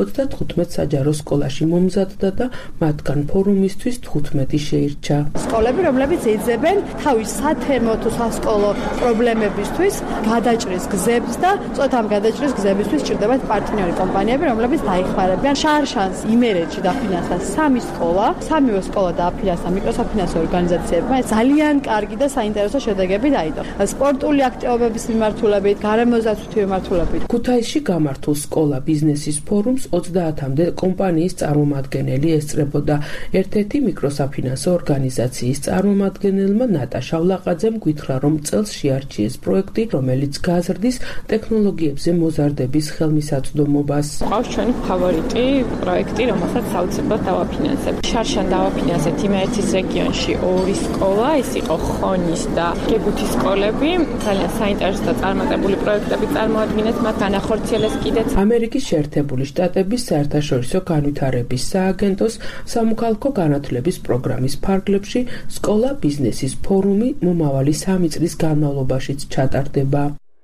35 საჯარო სკოლაში მომზადდა და მათგან ფორუმისთვის 15 შეირჩა. სკოლები, რომლებიც ეძებენ თავის სათემო თუ სასკოლო პრობლემებისთვის გადაჭრის გზებს და წოთ ამ გადაჭრის გზებისთვის ჭირდებათ პარტნიორი კომპანიები, რომლებიც დაიხმარებიან. შარშანს იმერეთში დაფინანსდა 3 სკოლა, 3-ვე სკოლა დააფინანსდა მიკროსაფინანსო ორგანიზაციებმა. ძალიან კარგი და საინტერესო შედეგები დაიდო. სპორტული აქტივობების მიმართულებით, გარემოზაცვითი მიმართულებით. ქუთაისში გამართულ სკოლა ბიზნესის ფორუმს 30-მდე კომპანიის წარმომადგენელი ესწრებოდა. ერთ-ერთი მიკროსაფინანსო ორგანიზაციის წარმომადგენელმა ნატაშა ვლაყაძემ გითხრა, რომ წელს შეარჩიეს პროექტი, რომელიც გაზრდის ტექნოლოგიებზე მოზარდების ხელმისაწვდომობას. ყავს ჩვენი ფავორიტი პროექტი, რომელსაც საოცრად დავაფინანსებ. შარშან დავაფინანსეთ იმერეთის რეგიონში 2 სკოლა, ეს იყო ხონის და გეგუთის სკოლები. ძალიან საინტერესო და წარმატებული პროექტები წარმოადგენს, მათ განახორციელეს კიდეც. ამერიკის შეერთებული შტატების საერთაშორისო განვითარების სააგენტოს სამოქალაქო განათლების პროგრამის ფარგლებში სკოლა ბიზნესის ფორუმი მომავალი 3 წლის განმავლობაშიც ჩატარდება.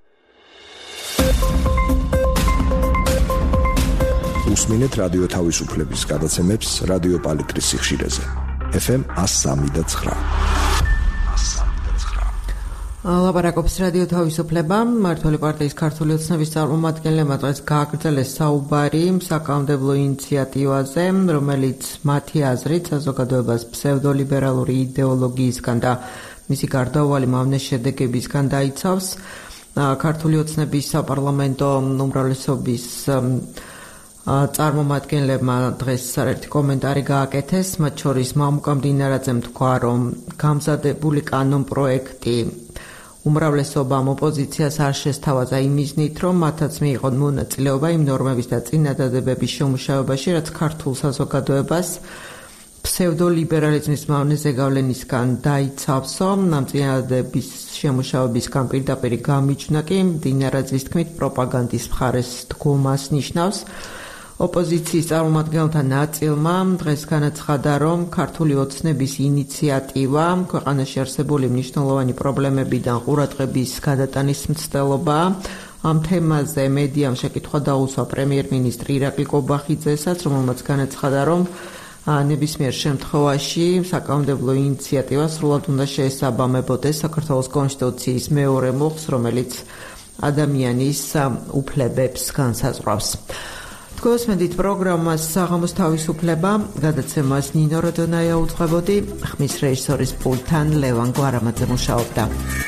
უსმინეთ რადიო თავისუფლების გადაცემებს რადიო პალიტრის სიხშირეზე. FM 103.9. ლაპარაკობს რადიო თავისუფლება. მმართველი პარტიის ქართული ოცნების წარმომადგენლებმა დღეს გააგრძელეს საუბარი საკანონმდებლო ინიციატივაზე, რომელიც მათი აზრით საზოგადოებას ფსევდოლიბერალური იდეოლოგიისგან და მისი გარდაუვალი მავნე შედეგებისგან დაიცავს. ქართული ოცნების საპარლამენტო უმრავლესობის წარმომადგენლებმა დღეს საერთო კომენტარი გააკეთეს, მათ შორის მამუკა მდინარაძემ თქვა, რომ გამზადებული კანონპროექტი უმრავლესობამ ოპოზიციას არ შესთავაზა იმ მიზნით, რომ მათაც მიიღონ მონაწილეობა იმ ნორმების და წინადადებების შემუშავებაში, რაც ქართულ საზოგადოებას ფსევდოლიბერალიზმის მავნეზე გავლენისგან დაიცავსო. ნამწინააღმდეგების შემუშავების პირდაპირ გამიჩნდა კი მდინარაძის თქმით პროპაგანდის მხარეს დგომას ნიშნავს. ოპოზიციის წარმომადგენელთა ნაწილმა დღეს განაცხადა, რომ ქართული ოცნების ინიციატივა ქვეყანაში არსებული მნიშვნელოვანი პრობლემებიდან ყურადღების გადატანის მცდელობაა. ამ თემაზე მედიამ შეკითხვა დაუსვა პრემიერ-მინისტრი ირაკლი კობახიძესაც, რომელმაც განაცხადა, რომ ნებისმიერ შემთხვევაში საკანონმდებლო ინიციატივა სრულად უნდა შეესაბამებოდეს საქართველოს კონსტიტუციის მეორე მუხლს, რომელიც ადამიანის უფლებებს განსაზღვრავს. თქვენსმენდით პროგრამას საღამოს თავისუფლება, გადაცემას ნინო როდონაია უძღვებოდი, ხმის რეჟისორის პულტთან ლევან გვარამაძე მუშაობდა.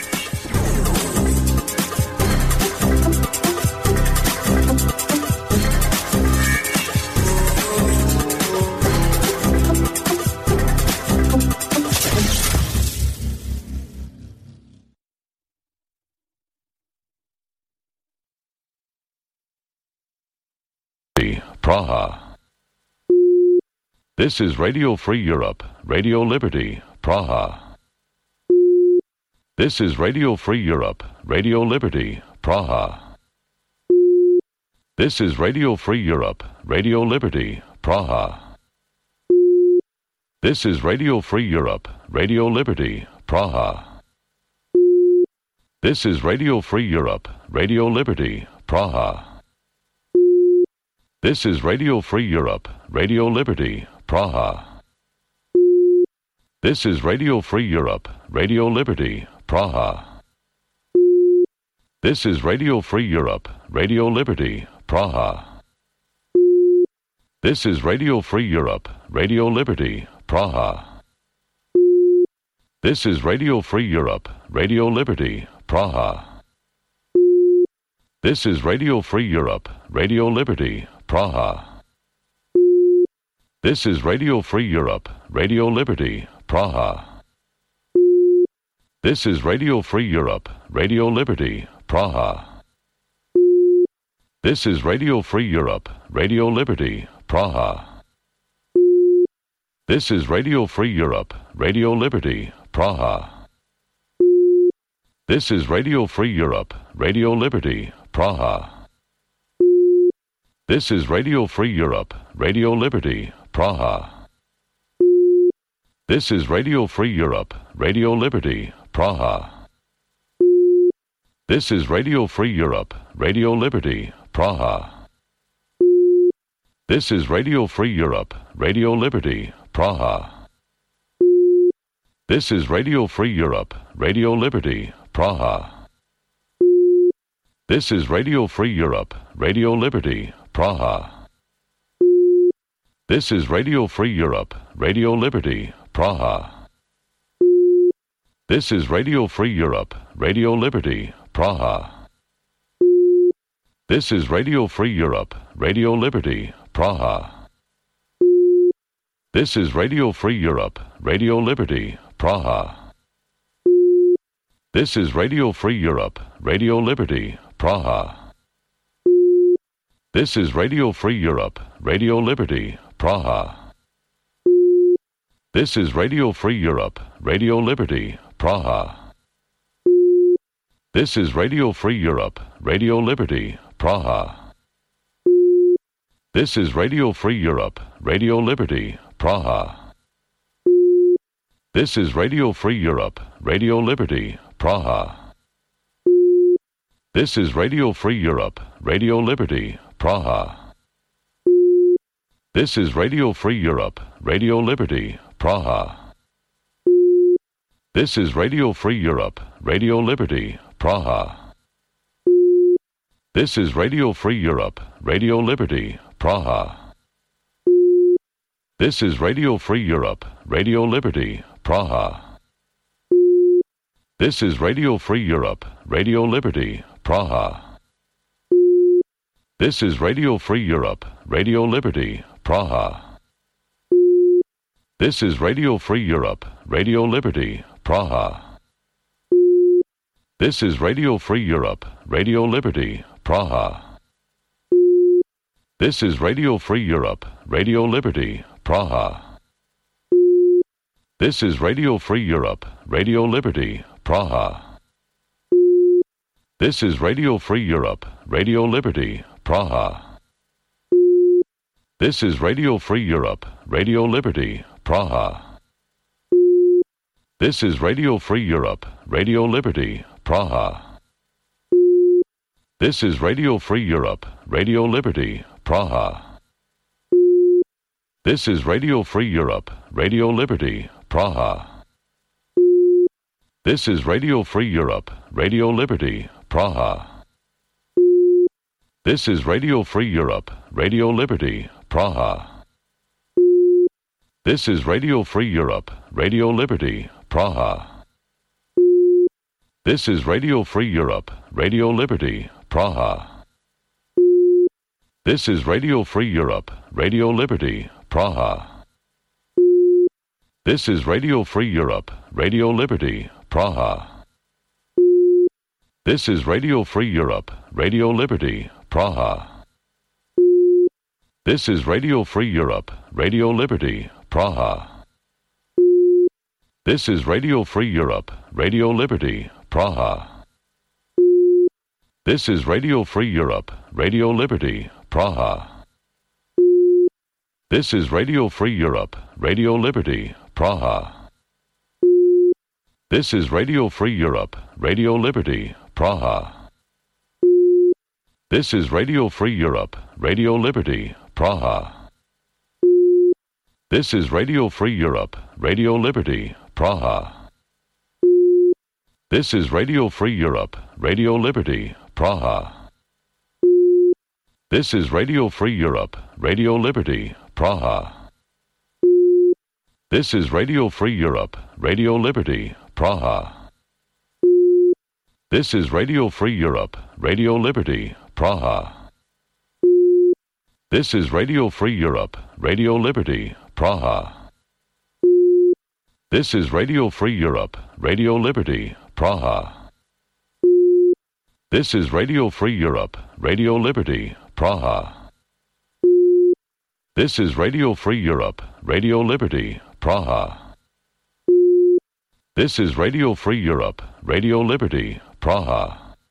Praha. This is Radio Free Europe, Radio Liberty, Praha. This is Radio Free Europe, Radio Liberty, Praha. This is Radio Free Europe, Radio Liberty, Praha. This is Radio Free Europe, Radio Liberty, Praha. This is Radio Free Europe, Radio Liberty, Praha. This is Radio Free Europe, Radio Liberty, Praha. This is Radio Free Europe, Radio Liberty, Praha. This is Radio Free Europe, Radio Liberty, Praha. This is Radio Free Europe, Radio Liberty, Praha. This is Radio Free Europe, Radio Liberty, Praha. This is Radio Free Europe, Radio Liberty, Praha. This is Radio Free Europe, Radio Liberty, Praha. This is Radio Free Europe, Radio Liberty, Praha. This is Radio Free Europe, Radio Liberty, Praha. This is Radio Free Europe, Radio Liberty, Praha. This is Radio Free Europe, Radio Liberty, Praha. This is Radio Free Europe, Radio Liberty, Praha. This is Radio Free Europe, Radio Liberty, Praha. This is Radio Free Europe, Radio Liberty, Praha. This is Radio Free Europe, Radio Liberty, Praha. This is Radio Free Europe, Radio Liberty, Praha. This is Radio Free Europe, Radio Liberty, Praha. This is Radio Free Europe, Radio Liberty, Praha. This is Radio Free Europe, Radio Liberty, Praha. This is Radio Free Europe, Radio Liberty, Praha. This is Radio Free Europe, Radio Liberty, Praha. This is Radio Free Europe, Radio Liberty, Praha. This is Radio Free Europe, Radio Liberty, Praha. This is Radio Free Europe, Radio Liberty, Praha. This is Radio Free Europe, Radio Liberty, Praha. This is Radio Free Europe, Radio Liberty, Praha. This is Radio Free Europe, Radio Liberty, Praha. This is Radio Free Europe, Radio Liberty, Praha. This is Radio Free Europe, Radio Liberty, Praha. This is Radio Free Europe, Radio Liberty, Praha. This is Radio Free Europe, Radio Liberty, Praha. This is Radio Free Europe, Radio Liberty, Praha. This is Radio Free Europe, Radio Liberty, Praha. This is Radio Free Europe, Radio Liberty, Praha. This is Radio Free Europe, Radio Liberty, Praha. This is Radio Free Europe, Radio Liberty, Praha. This is Radio Free Europe, Radio Liberty, Praha. This is Radio Free Europe, Radio Liberty, Praha. This is Radio Free Europe, Radio Liberty, Praha. This is Radio Free Europe, Radio Liberty, Praha. This is Radio Free Europe, Radio Liberty, Praha. This is Radio Free Europe, Radio Liberty, Praha. This is Radio Free Europe, Radio Liberty, Praha. This is Radio Free Europe, Radio Liberty, Praha. This is Radio Free Europe, Radio Liberty, Praha. This is Radio Free Europe, Radio Liberty, Praha. This is Radio Free Europe, Radio Liberty, Praha. This is Radio Free Europe, Radio Liberty, Praha. This is Radio Free Europe, Radio Liberty, Praha. This is Radio Free Europe, Radio Liberty, Praha. This is Radio Free Europe, Radio Liberty, Praha. This is Radio Free Europe, Radio Liberty, Praha. This is Radio Free Europe, Radio Liberty, Praha. This is Radio Free Europe, Radio Liberty, Praha. This is Radio Free Europe, Radio Liberty, Praha. This is Radio Free Europe, Radio Liberty, Praha. This is Radio Free Europe, Radio Liberty, Praha. This is Radio Free Europe, Radio Liberty, Praha. This is Radio Free Europe, Radio Liberty, Praha. This is Radio Free Europe, Radio Liberty, Praha. This is Radio Free Europe, Radio Liberty, Praha. This is Radio Free Europe, Radio Liberty, Praha. This is Radio Free Europe, Radio Liberty, Praha. This is Radio Free Europe, Radio Liberty, Praha. This is Radio Free Europe, Radio Liberty, Praha. This is Radio Free Europe, Radio Liberty, Praha.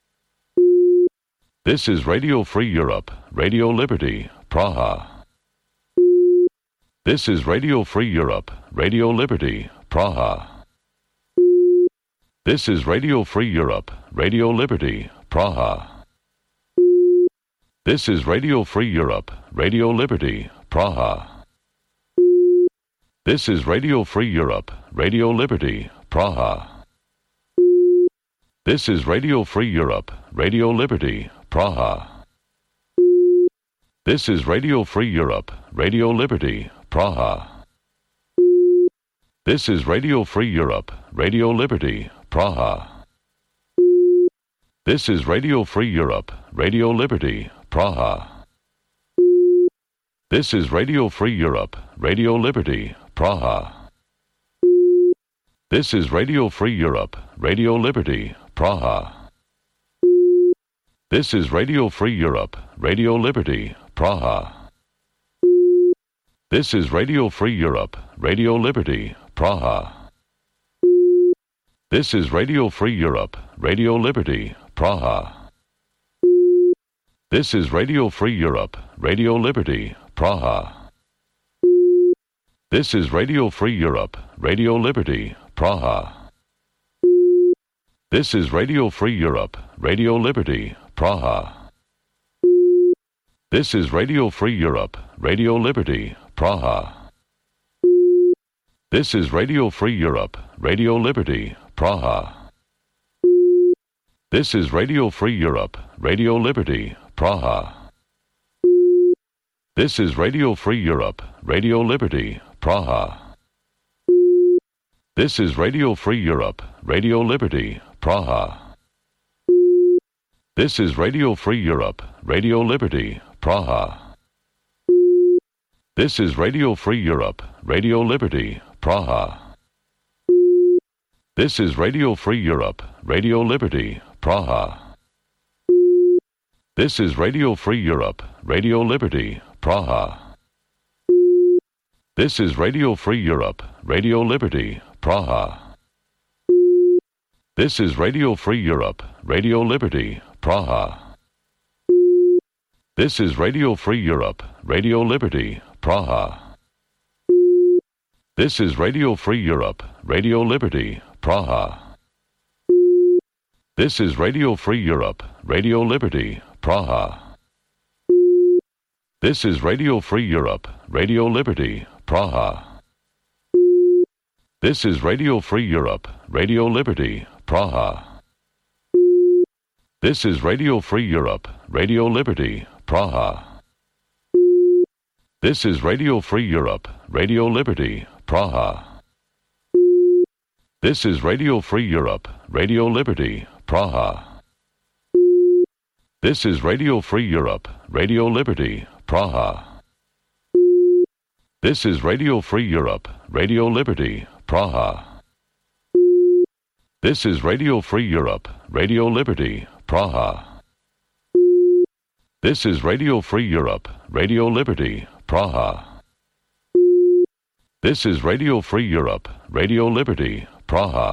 This is Radio Free Europe, Radio Liberty, Praha. This is Radio Free Europe, Radio Liberty, Praha. This is Radio Free Europe, Radio Liberty, Praha. This is Radio Free Europe, Radio Liberty, Praha. This is Radio Free Europe, Radio Liberty, Praha. This is Radio Free Europe, Radio Liberty, Praha. This is Radio Free Europe, Radio Liberty, Praha. This is Radio Free Europe, Radio Liberty, Praha. This is Radio Free Europe, Radio Liberty, Praha. This is Radio Free Europe, Radio Liberty, Praha. This is Radio Free Europe, Radio Liberty, Praha. This is Radio Free Europe, Radio Liberty, Praha. This is Radio Free Europe, Radio Liberty, Praha. This is Radio Free Europe, Radio Liberty, Praha. This is Radio Free Europe, Radio Liberty, Praha. This is Radio Free Europe, Radio Liberty, Praha. This is Radio Free Europe, Radio Liberty, Praha. This is Radio Free Europe, Radio Liberty, Praha. This is Radio Free Europe, Radio Liberty, Praha. This is Radio Free Europe, Radio Liberty, Praha. This is Radio Free Europe, Radio Liberty, Praha. This is Radio Free Europe, Radio Liberty, Praha. This is Radio Free Europe, Radio Liberty, Praha. This is Radio Free Europe, Radio Liberty, Praha. This is Radio Free Europe, Radio Liberty, Praha. This is Radio Free Europe, Radio Liberty, Praha. This is Radio Free Europe, Radio Liberty, Praha. This is Radio Free Europe, Radio Liberty, Praha. This is Radio Free Europe, Radio Liberty, Praha. This is Radio Free Europe, Radio Liberty, Praha. This is Radio Free Europe, Radio Liberty, Praha. This is Radio Free Europe, Radio Liberty, Praha. This is Radio Free Europe, Radio Liberty, Praha. This is Radio Free Europe, Radio Liberty, Praha. This is Radio Free Europe, Radio Liberty, Praha. This is Radio Free Europe, Radio Liberty, Praha. This is Radio Free Europe, Radio Liberty, Praha. This is Radio Free Europe, Radio Liberty, Praha. This is Radio Free Europe, Radio Liberty, Praha. This is Radio Free Europe, Radio Liberty, Praha. This is Radio Free Europe, Radio Liberty, Praha.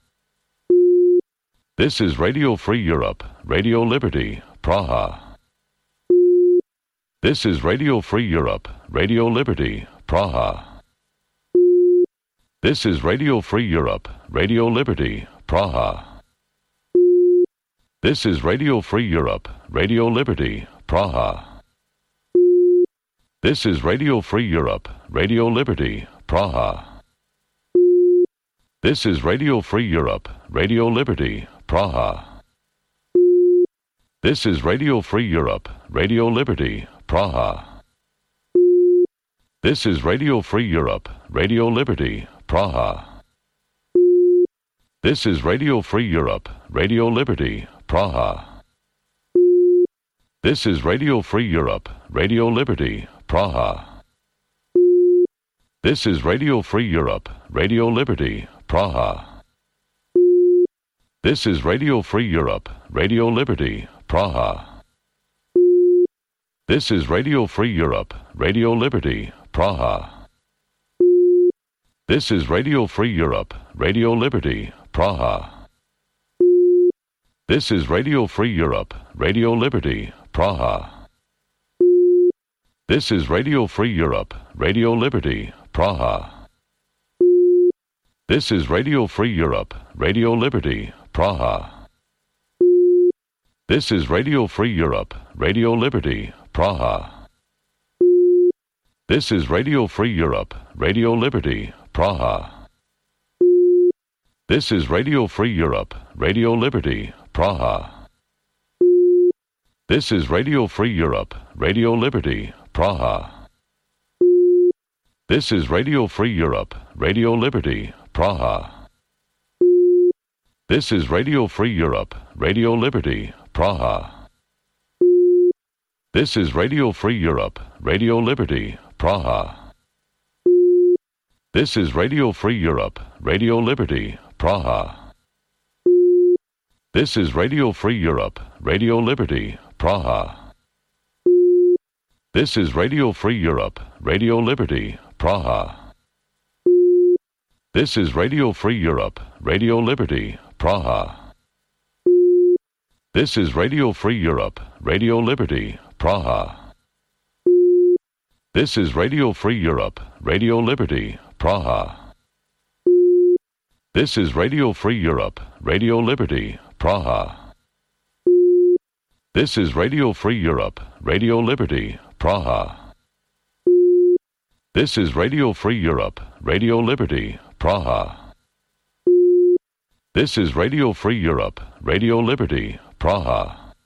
This is Radio Free Europe, Radio Liberty, Praha. This is Radio Free Europe, Radio Liberty, Praha. This is Radio Free Europe, Radio Liberty, Praha. This is Radio Free Europe, Radio Liberty, Praha. This is Radio Free Europe, Radio Liberty, Praha. This is Radio Free Europe, Radio Liberty, Praha. This is Radio Free Europe, Radio Liberty, Praha. This is Radio Free Europe, Radio Liberty, Praha. This is Radio Free Europe, Radio Liberty, Praha. This is Radio Free Europe, Radio Liberty, Praha. This is Radio Free Europe, Radio Liberty, Praha. This is Radio Free Europe, Radio Liberty, Praha. This is Radio Free Europe, Radio Liberty, Praha. This is Radio Free Europe, Radio Liberty, Praha. This is Radio Free Europe, Radio Liberty, Praha. This is Radio Free Europe, Radio Liberty, Praha. This is Radio Free Europe, Radio Liberty, Praha. This is Radio Free Europe, Radio Liberty, Praha. This is Radio Free Europe, Radio Liberty, Praha. This is Radio Free Europe, Radio Liberty, Praha. This is Radio Free Europe, Radio Liberty, Praha. This is Radio Free Europe, Radio Liberty, Praha. This is Radio Free Europe, Radio Liberty, Praha. This is Radio Free Europe, Radio Liberty, Praha. This is Radio Free Europe, Radio Liberty, Praha. This is Radio Free Europe, Radio Liberty, Praha. This is Radio Free Europe, Radio Liberty, Praha. This is Radio Free Europe, Radio Liberty, Praha. This is Radio Free Europe, Radio Liberty, Praha. This is Radio Free Europe, Radio Liberty, Praha. This is Radio Free Europe, Radio Liberty, Praha. This is Radio Free Europe, Radio Liberty, Praha. This is Radio Free Europe, Radio Liberty, Praha. This is Radio Free Europe, Radio Liberty, Praha.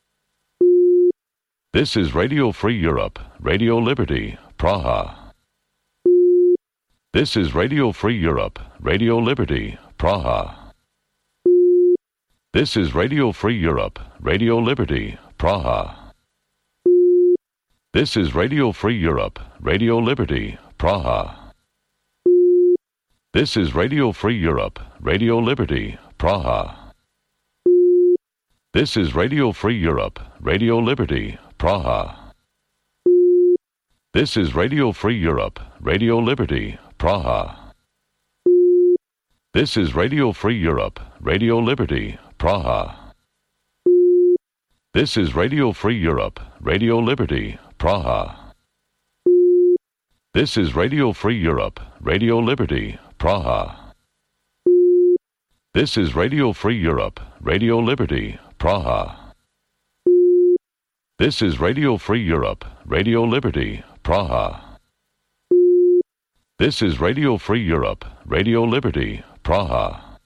This is Radio Free Europe, Radio Liberty, Praha. This is Radio Free Europe, Radio Liberty, Praha. This is Radio Free Europe, Radio Liberty, Praha. This is Radio Free Europe, Radio Liberty, Praha. This is Radio Free Europe, Radio Liberty, Praha. This is Radio Free Europe, Radio Liberty, Praha. This is Radio Free Europe, Radio Liberty, Praha. This is Radio Free Europe, Radio Liberty, Praha. This is Radio Free Europe, Radio Liberty, Praha. This is Radio Free Europe, Radio Liberty, Praha. This is Radio Free Europe, Radio Liberty, Praha. This is Radio Free Europe, Radio Liberty, Praha. This is Radio Free Europe, Radio Liberty, Praha.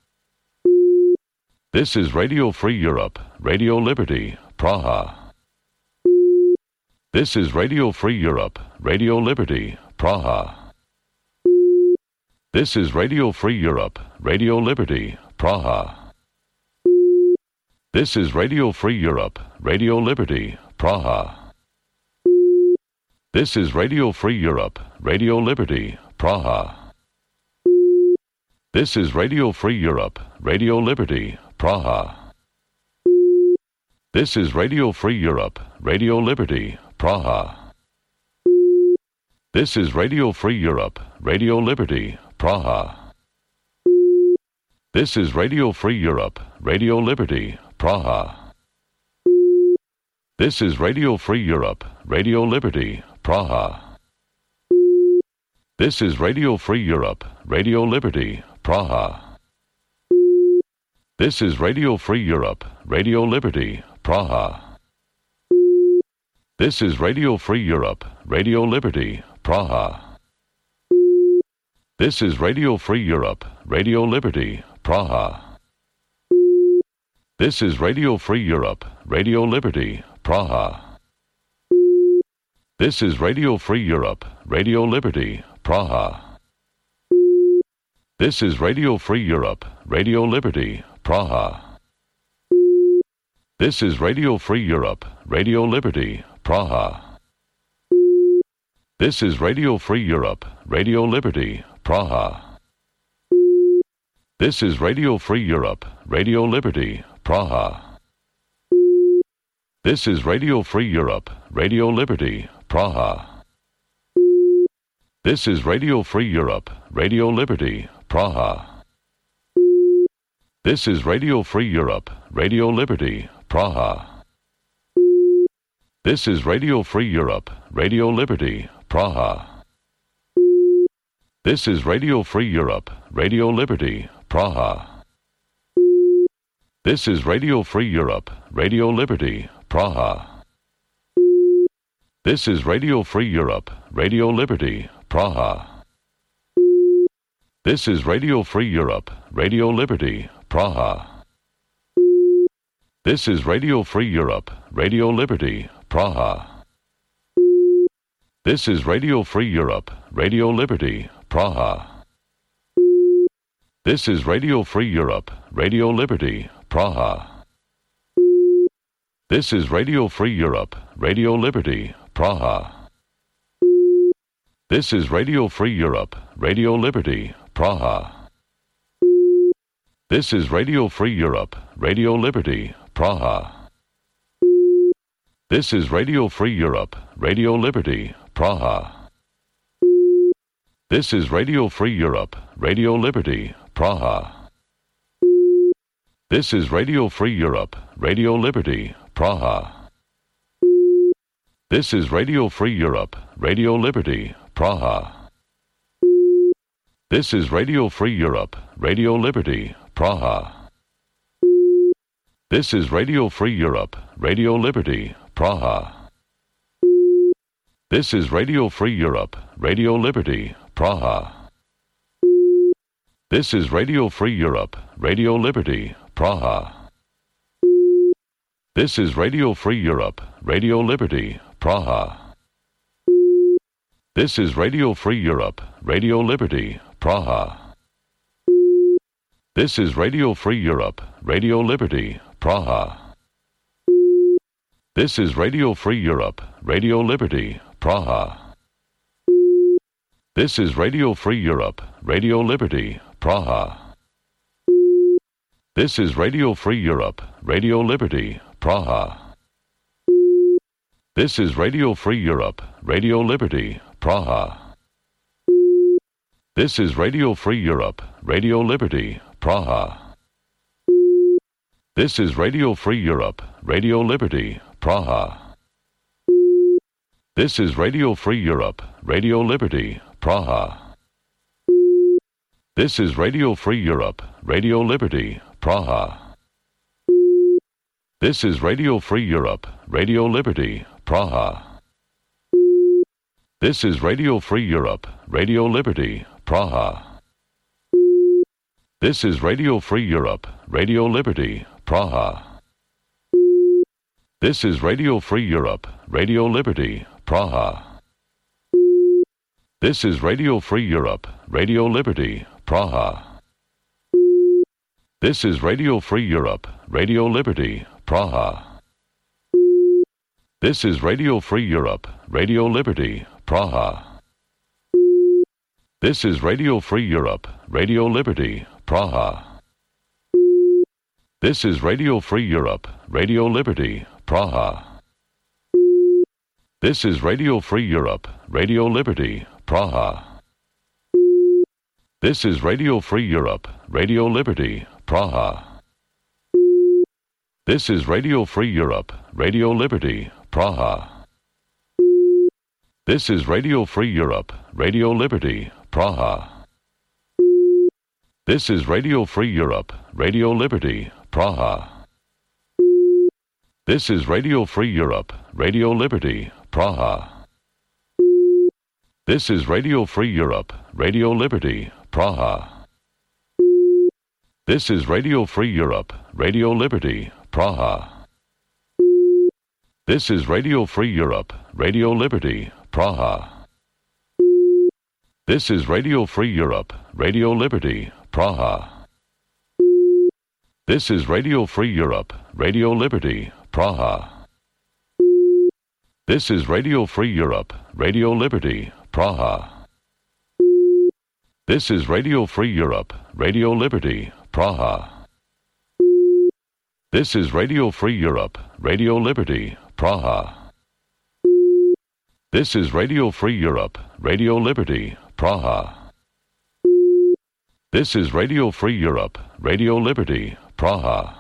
This is Radio Free Europe, Radio Liberty, Praha. This is Radio Free Europe, Radio Liberty, Praha. This is Radio Free Europe, Radio Liberty, Praha. This is Radio Free Europe, Radio Liberty, Praha. This is Radio Free Europe, Radio Liberty, Praha. This is Radio Free Europe, Radio Liberty, Praha. This is Radio Free Europe, Radio Liberty, Praha. This is Radio Free Europe, Radio Liberty, Praha. This is Radio Free Europe, Radio Liberty, Praha. This is Radio Free Europe, Radio Liberty, Praha. This is Radio Free Europe, Radio Liberty, Praha. This is Radio Free Europe, Radio Liberty, Praha. This is Radio Free Europe, Radio Liberty, Praha. This is Radio Free Europe, Radio Liberty, Praha. This is Radio Free Europe, Radio Liberty, Praha. This is Radio Free Europe, Radio Liberty, Praha. This is Radio Free Europe, Radio Liberty, Praha. This is Radio Free Europe, Radio Liberty, Praha. This is Radio Free Europe, Radio Liberty, Praha. This is Radio Free Europe, Radio Liberty, Praha. This is Radio Free Europe, Radio Liberty, Praha. This is Radio Free Europe, Radio Liberty, Praha. This is Radio Free Europe, Radio Liberty, Praha. This is Radio Free Europe, Radio Liberty, Praha. This is Radio Free Europe, Radio Liberty, Praha. This is Radio Free Europe, Radio Liberty, Praha. This is Radio Free Europe, Radio Liberty, Praha. This is Radio Free Europe, Radio Liberty, Praha. This is Radio Free Europe, Radio Liberty, Praha. This is Radio Free Europe, Radio Liberty, Praha. This is Radio Free Europe, Radio Liberty, Praha. This is Radio Free Europe, Radio Liberty, Praha. This is Radio Free Europe, Radio Liberty, Praha. This is Radio Free Europe, Radio Liberty, Praha. This is Radio Free Europe, Radio Liberty, Praha. This is Radio Free Europe, Radio Liberty, Praha. This is Radio Free Europe, Radio Liberty, Praha. This is Radio Free Europe, Radio Liberty, Praha. This is Radio Free Europe, Radio Liberty, Praha. This is Radio Free Europe, Radio Liberty, Praha. This is Radio Free Europe, Radio Liberty, Praha. This is Radio Free Europe, Radio Liberty, Praha. This is Radio Free Europe, Radio Liberty, Praha. This is Radio Free Europe, Radio Liberty, Praha. This is Radio Free Europe, Radio Liberty, Praha. This is Radio Free Europe, Radio Liberty, Praha. This is Radio Free Europe, Radio Liberty, Praha. This is Radio Free Europe, Radio Liberty, Praha. This is Radio Free Europe, Radio Liberty, Praha. This is Radio Free Europe, Radio Liberty, Praha. This is Radio Free Europe, Radio Liberty, Praha. This is Radio Free Europe, Radio Liberty, Praha. This is Radio Free Europe, Radio Liberty, Praha. This is Radio Free Europe, Radio Liberty, Praha. This is Radio Free Europe, Radio Liberty, Praha. This is Radio Free Europe, Radio Liberty, Praha. This is Radio Free Europe, Radio Liberty, Praha. This is Radio Free Europe, Radio Liberty, Praha. This is Radio Free Europe, Radio Liberty, Praha. This is Radio Free Europe, Radio Liberty, Praha. This is Radio Free Europe, Radio Liberty, Praha. This is Radio Free Europe, Radio Liberty, Praha. This is Radio Free Europe, Radio Liberty, Praha. This is Radio Free Europe, Radio Liberty, Praha. This is Radio Free Europe, Radio Liberty, Praha. This is Radio Free Europe, Radio Liberty, Praha. This is Radio Free Europe, Radio Liberty, Praha. This is Radio Free Europe, Radio Liberty, Praha. This is Radio Free Europe, Radio Liberty, Praha. This is Radio Free Europe, Radio Liberty, Praha. This is Radio Free Europe, Radio Liberty, Praha. This is Radio Free Europe, Radio Liberty, Praha. This is Radio Free Europe, Radio Liberty, Praha. This is Radio Free Europe, Radio Liberty, Praha. This is Radio Free Europe, Radio Liberty, Praha. This is Radio Free Europe, Radio Liberty, Praha. This is Radio Free Europe, Radio Liberty, Praha. This is Radio Free Europe, Radio Liberty, Praha.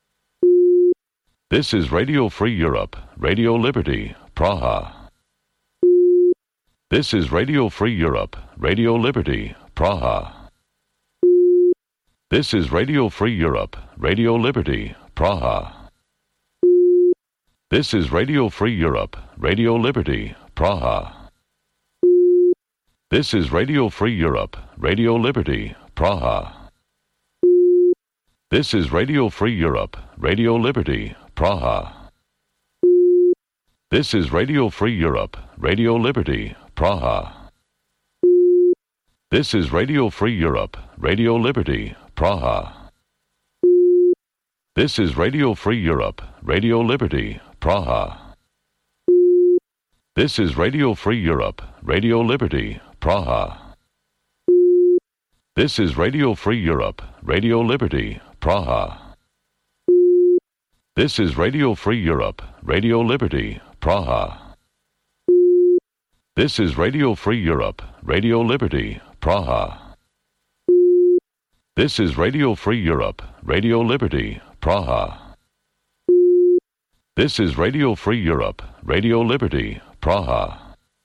This is Radio Free Europe, Radio Liberty, Praha. This is Radio Free Europe, Radio Liberty, Praha. This is Radio Free Europe, Radio Liberty, Praha. This is Radio Free Europe, Radio Liberty, Praha. This is Radio Free Europe, Radio Liberty, Praha. This is Radio Free Europe, Radio Liberty, Praha. This is Radio Free Europe, Radio Liberty, Praha. This is Radio Free Europe, Radio Liberty, Praha. This is Radio Free Europe, Radio Liberty, Praha. This is Radio Free Europe, Radio Liberty, Praha. This is Radio Free Europe, Radio Liberty, Praha. This is Radio Free Europe, Radio Liberty, Praha. This is Radio Free Europe, Radio Liberty, Praha. This is Radio Free Europe, Radio Liberty, Praha. This is Radio Free Europe, Radio Liberty, Praha.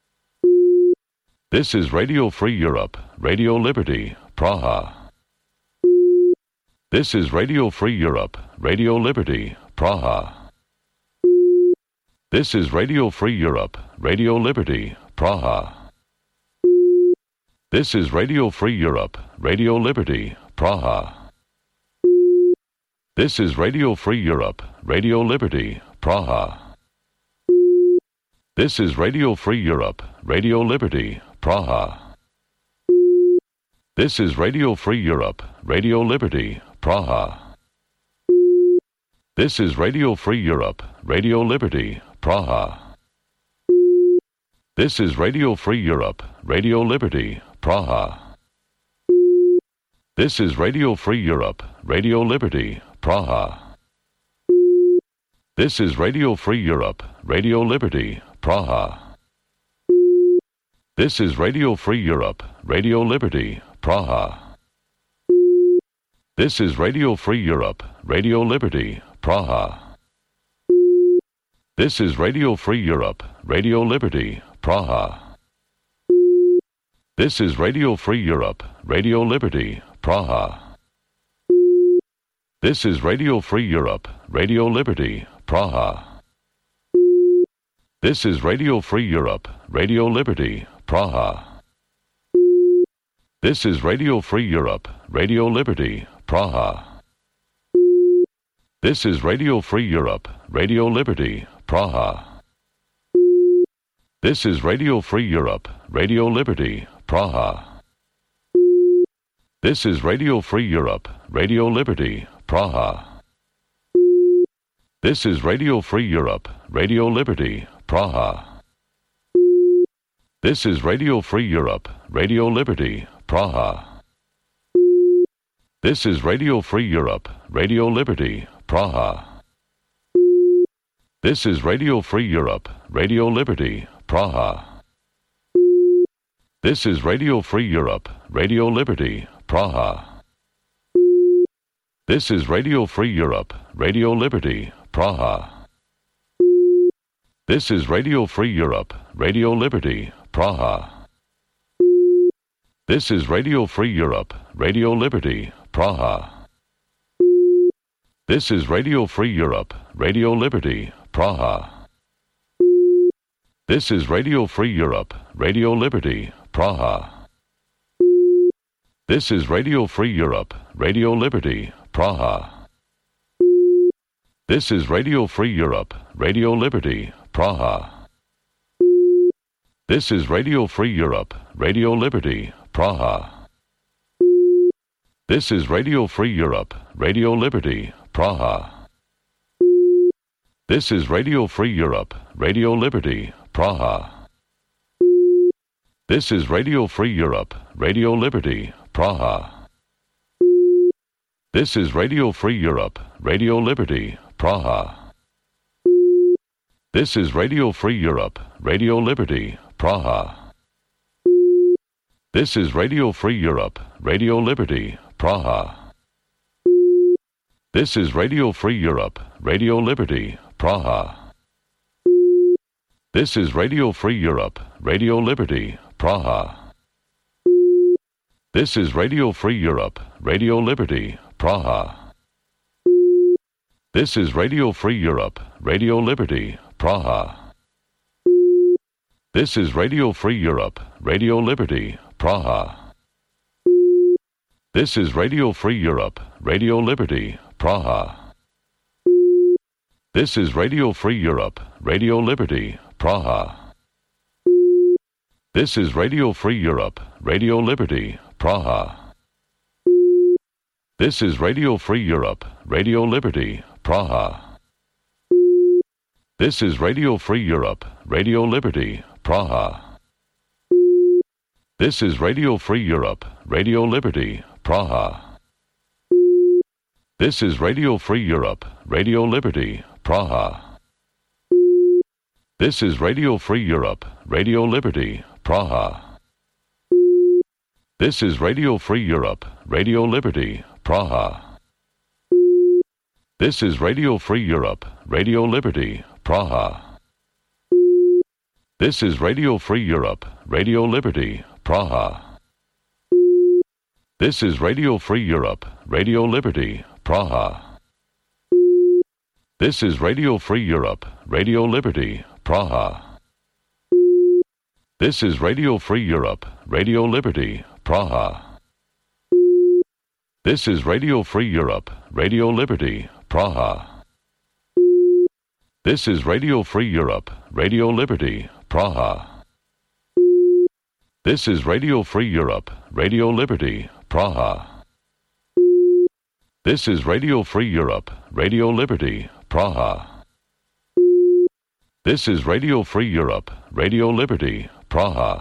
This is Radio Free Europe, Radio Liberty, Praha. This is Radio Free Europe, Radio Liberty, Praha. This is Radio Free Europe, Radio Liberty, Praha. This is Radio Free Europe, Radio Liberty, Praha. This is Radio Free Europe, Radio Liberty, Praha. This is Radio Free Europe, Radio Liberty, Praha. This is Radio Free Europe, Radio Liberty, Praha. This is Radio Free Europe, Radio Liberty, Praha. This is Radio Free Europe, Radio Liberty, Praha. This is Radio Free Europe, Radio Liberty, Praha. This is Radio Free Europe, Radio Liberty, Praha. This is Radio Free Europe, Radio Liberty, Praha. This is Radio Free Europe, Radio Liberty, Praha. This is Radio Free Europe, Radio Liberty, Praha. This is Radio Free Europe, Radio Liberty, Praha. This is Radio Free Europe, Radio Liberty, Praha. This is Radio Free Europe, Radio Liberty, Praha. This is Radio Free Europe, Radio Liberty, Praha. This is Radio Free Europe, Radio Liberty, Praha. This is Radio Free Europe, Radio Liberty, Praha. This is Radio Free Europe, Radio Liberty, Praha. This is Radio Free Europe, Radio Liberty, Praha. This is Radio Free Europe, Radio Liberty, Praha. This is Radio Free Europe, Radio Liberty, Praha. This is Radio Free Europe, Radio Liberty, Praha. This is Radio Free Europe, Radio Liberty, Praha. This is Radio Free Europe, Radio Liberty, Praha. This is Radio Free Europe, Radio Liberty, Praha. This is Radio Free Europe, Radio Liberty, Praha. This is Radio Free Europe, Radio Liberty, Praha. This is Radio Free Europe, Radio Liberty, Praha. This is Radio Free Europe, Radio Liberty, Praha. This is Radio Free Europe, Radio Liberty, Praha. This is Radio Free Europe, Radio Liberty, Praha. This is Radio Free Europe, Radio Liberty, Praha. This is Radio Free Europe, Radio Liberty, Praha. This is Radio Free Europe, Radio Liberty, Praha. This is Radio Free Europe, Radio Liberty, Praha. This is Radio Free Europe, Radio Liberty, Praha. This is Radio Free Europe, Radio Liberty, Praha. This is Radio Free Europe, Radio Liberty, Praha. This is Radio Free Europe, Radio Liberty, Praha. This is Radio Free Europe, Radio Liberty, Praha. This is Radio Free Europe, Radio Liberty, Praha. This is Radio Free Europe, Radio Liberty, Praha. This is Radio Free Europe, Radio Liberty, Praha. This is Radio Free Europe, Radio Liberty, Praha. This is Radio Free Europe, Radio Liberty, Praha. This is Radio Free Europe, Radio Liberty, Praha. This is Radio Free Europe, Radio Liberty, Praha. This is Radio Free Europe, Radio Liberty, Praha. This is Radio Free Europe, Radio Liberty, Praha. This is Radio Free Europe, Radio Liberty, Praha. This is Radio Free Europe, Radio Liberty, Praha. This is Radio Free Europe, Radio Liberty, Praha. This is Radio Free Europe, Radio Liberty, Praha. This is Radio Free Europe, Radio Liberty, Praha. This is Radio Free Europe, Radio Liberty, Praha. This is Radio Free Europe, Radio Liberty, Praha. This is Radio Free Europe, Radio Liberty, Praha. This is Radio Free Europe, Radio Liberty, Praha. This is Radio Free Europe, Radio Liberty, Praha. This is Radio Free Europe, Radio Liberty, Praha. This is Radio Free Europe, Radio Liberty, Praha.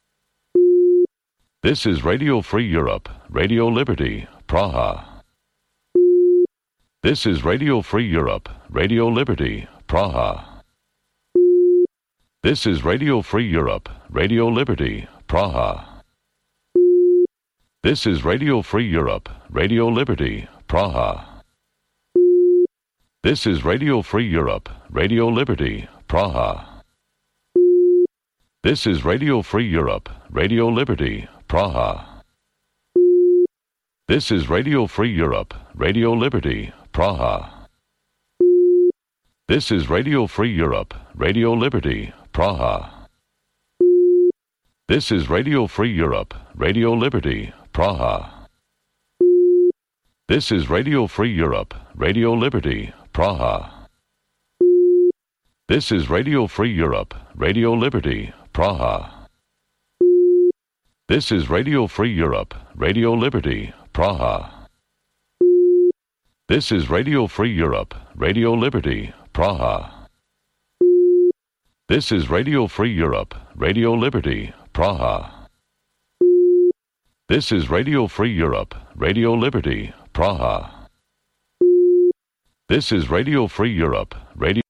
This is Radio Free Europe, Radio Liberty, Praha. This is Radio Free Europe, Radio Liberty, Praha. This is Radio Free Europe, Radio Liberty, Praha. This is Radio Free Europe, Radio Liberty, Praha. This is Radio Free Europe, Radio Liberty, Praha. This is Radio Free Europe, Radio Liberty, Praha. This is Radio Free Europe, Radio Liberty, Praha. This is Radio Free Europe, Radio Liberty, Praha. This is Radio Free Europe, Radio Liberty, Praha. This is Radio Free Europe, Radio Liberty, Praha. This is Radio Free Europe, Radio Liberty, Praha. This is Radio Free Europe, Radio Liberty, Praha. This is Radio Free Europe, Radio Liberty, Praha. This is Radio Free Europe, Radio Liberty, Praha. This is Radio Free Europe, Radio Liberty, Praha. This is Radio Free Europe, Radio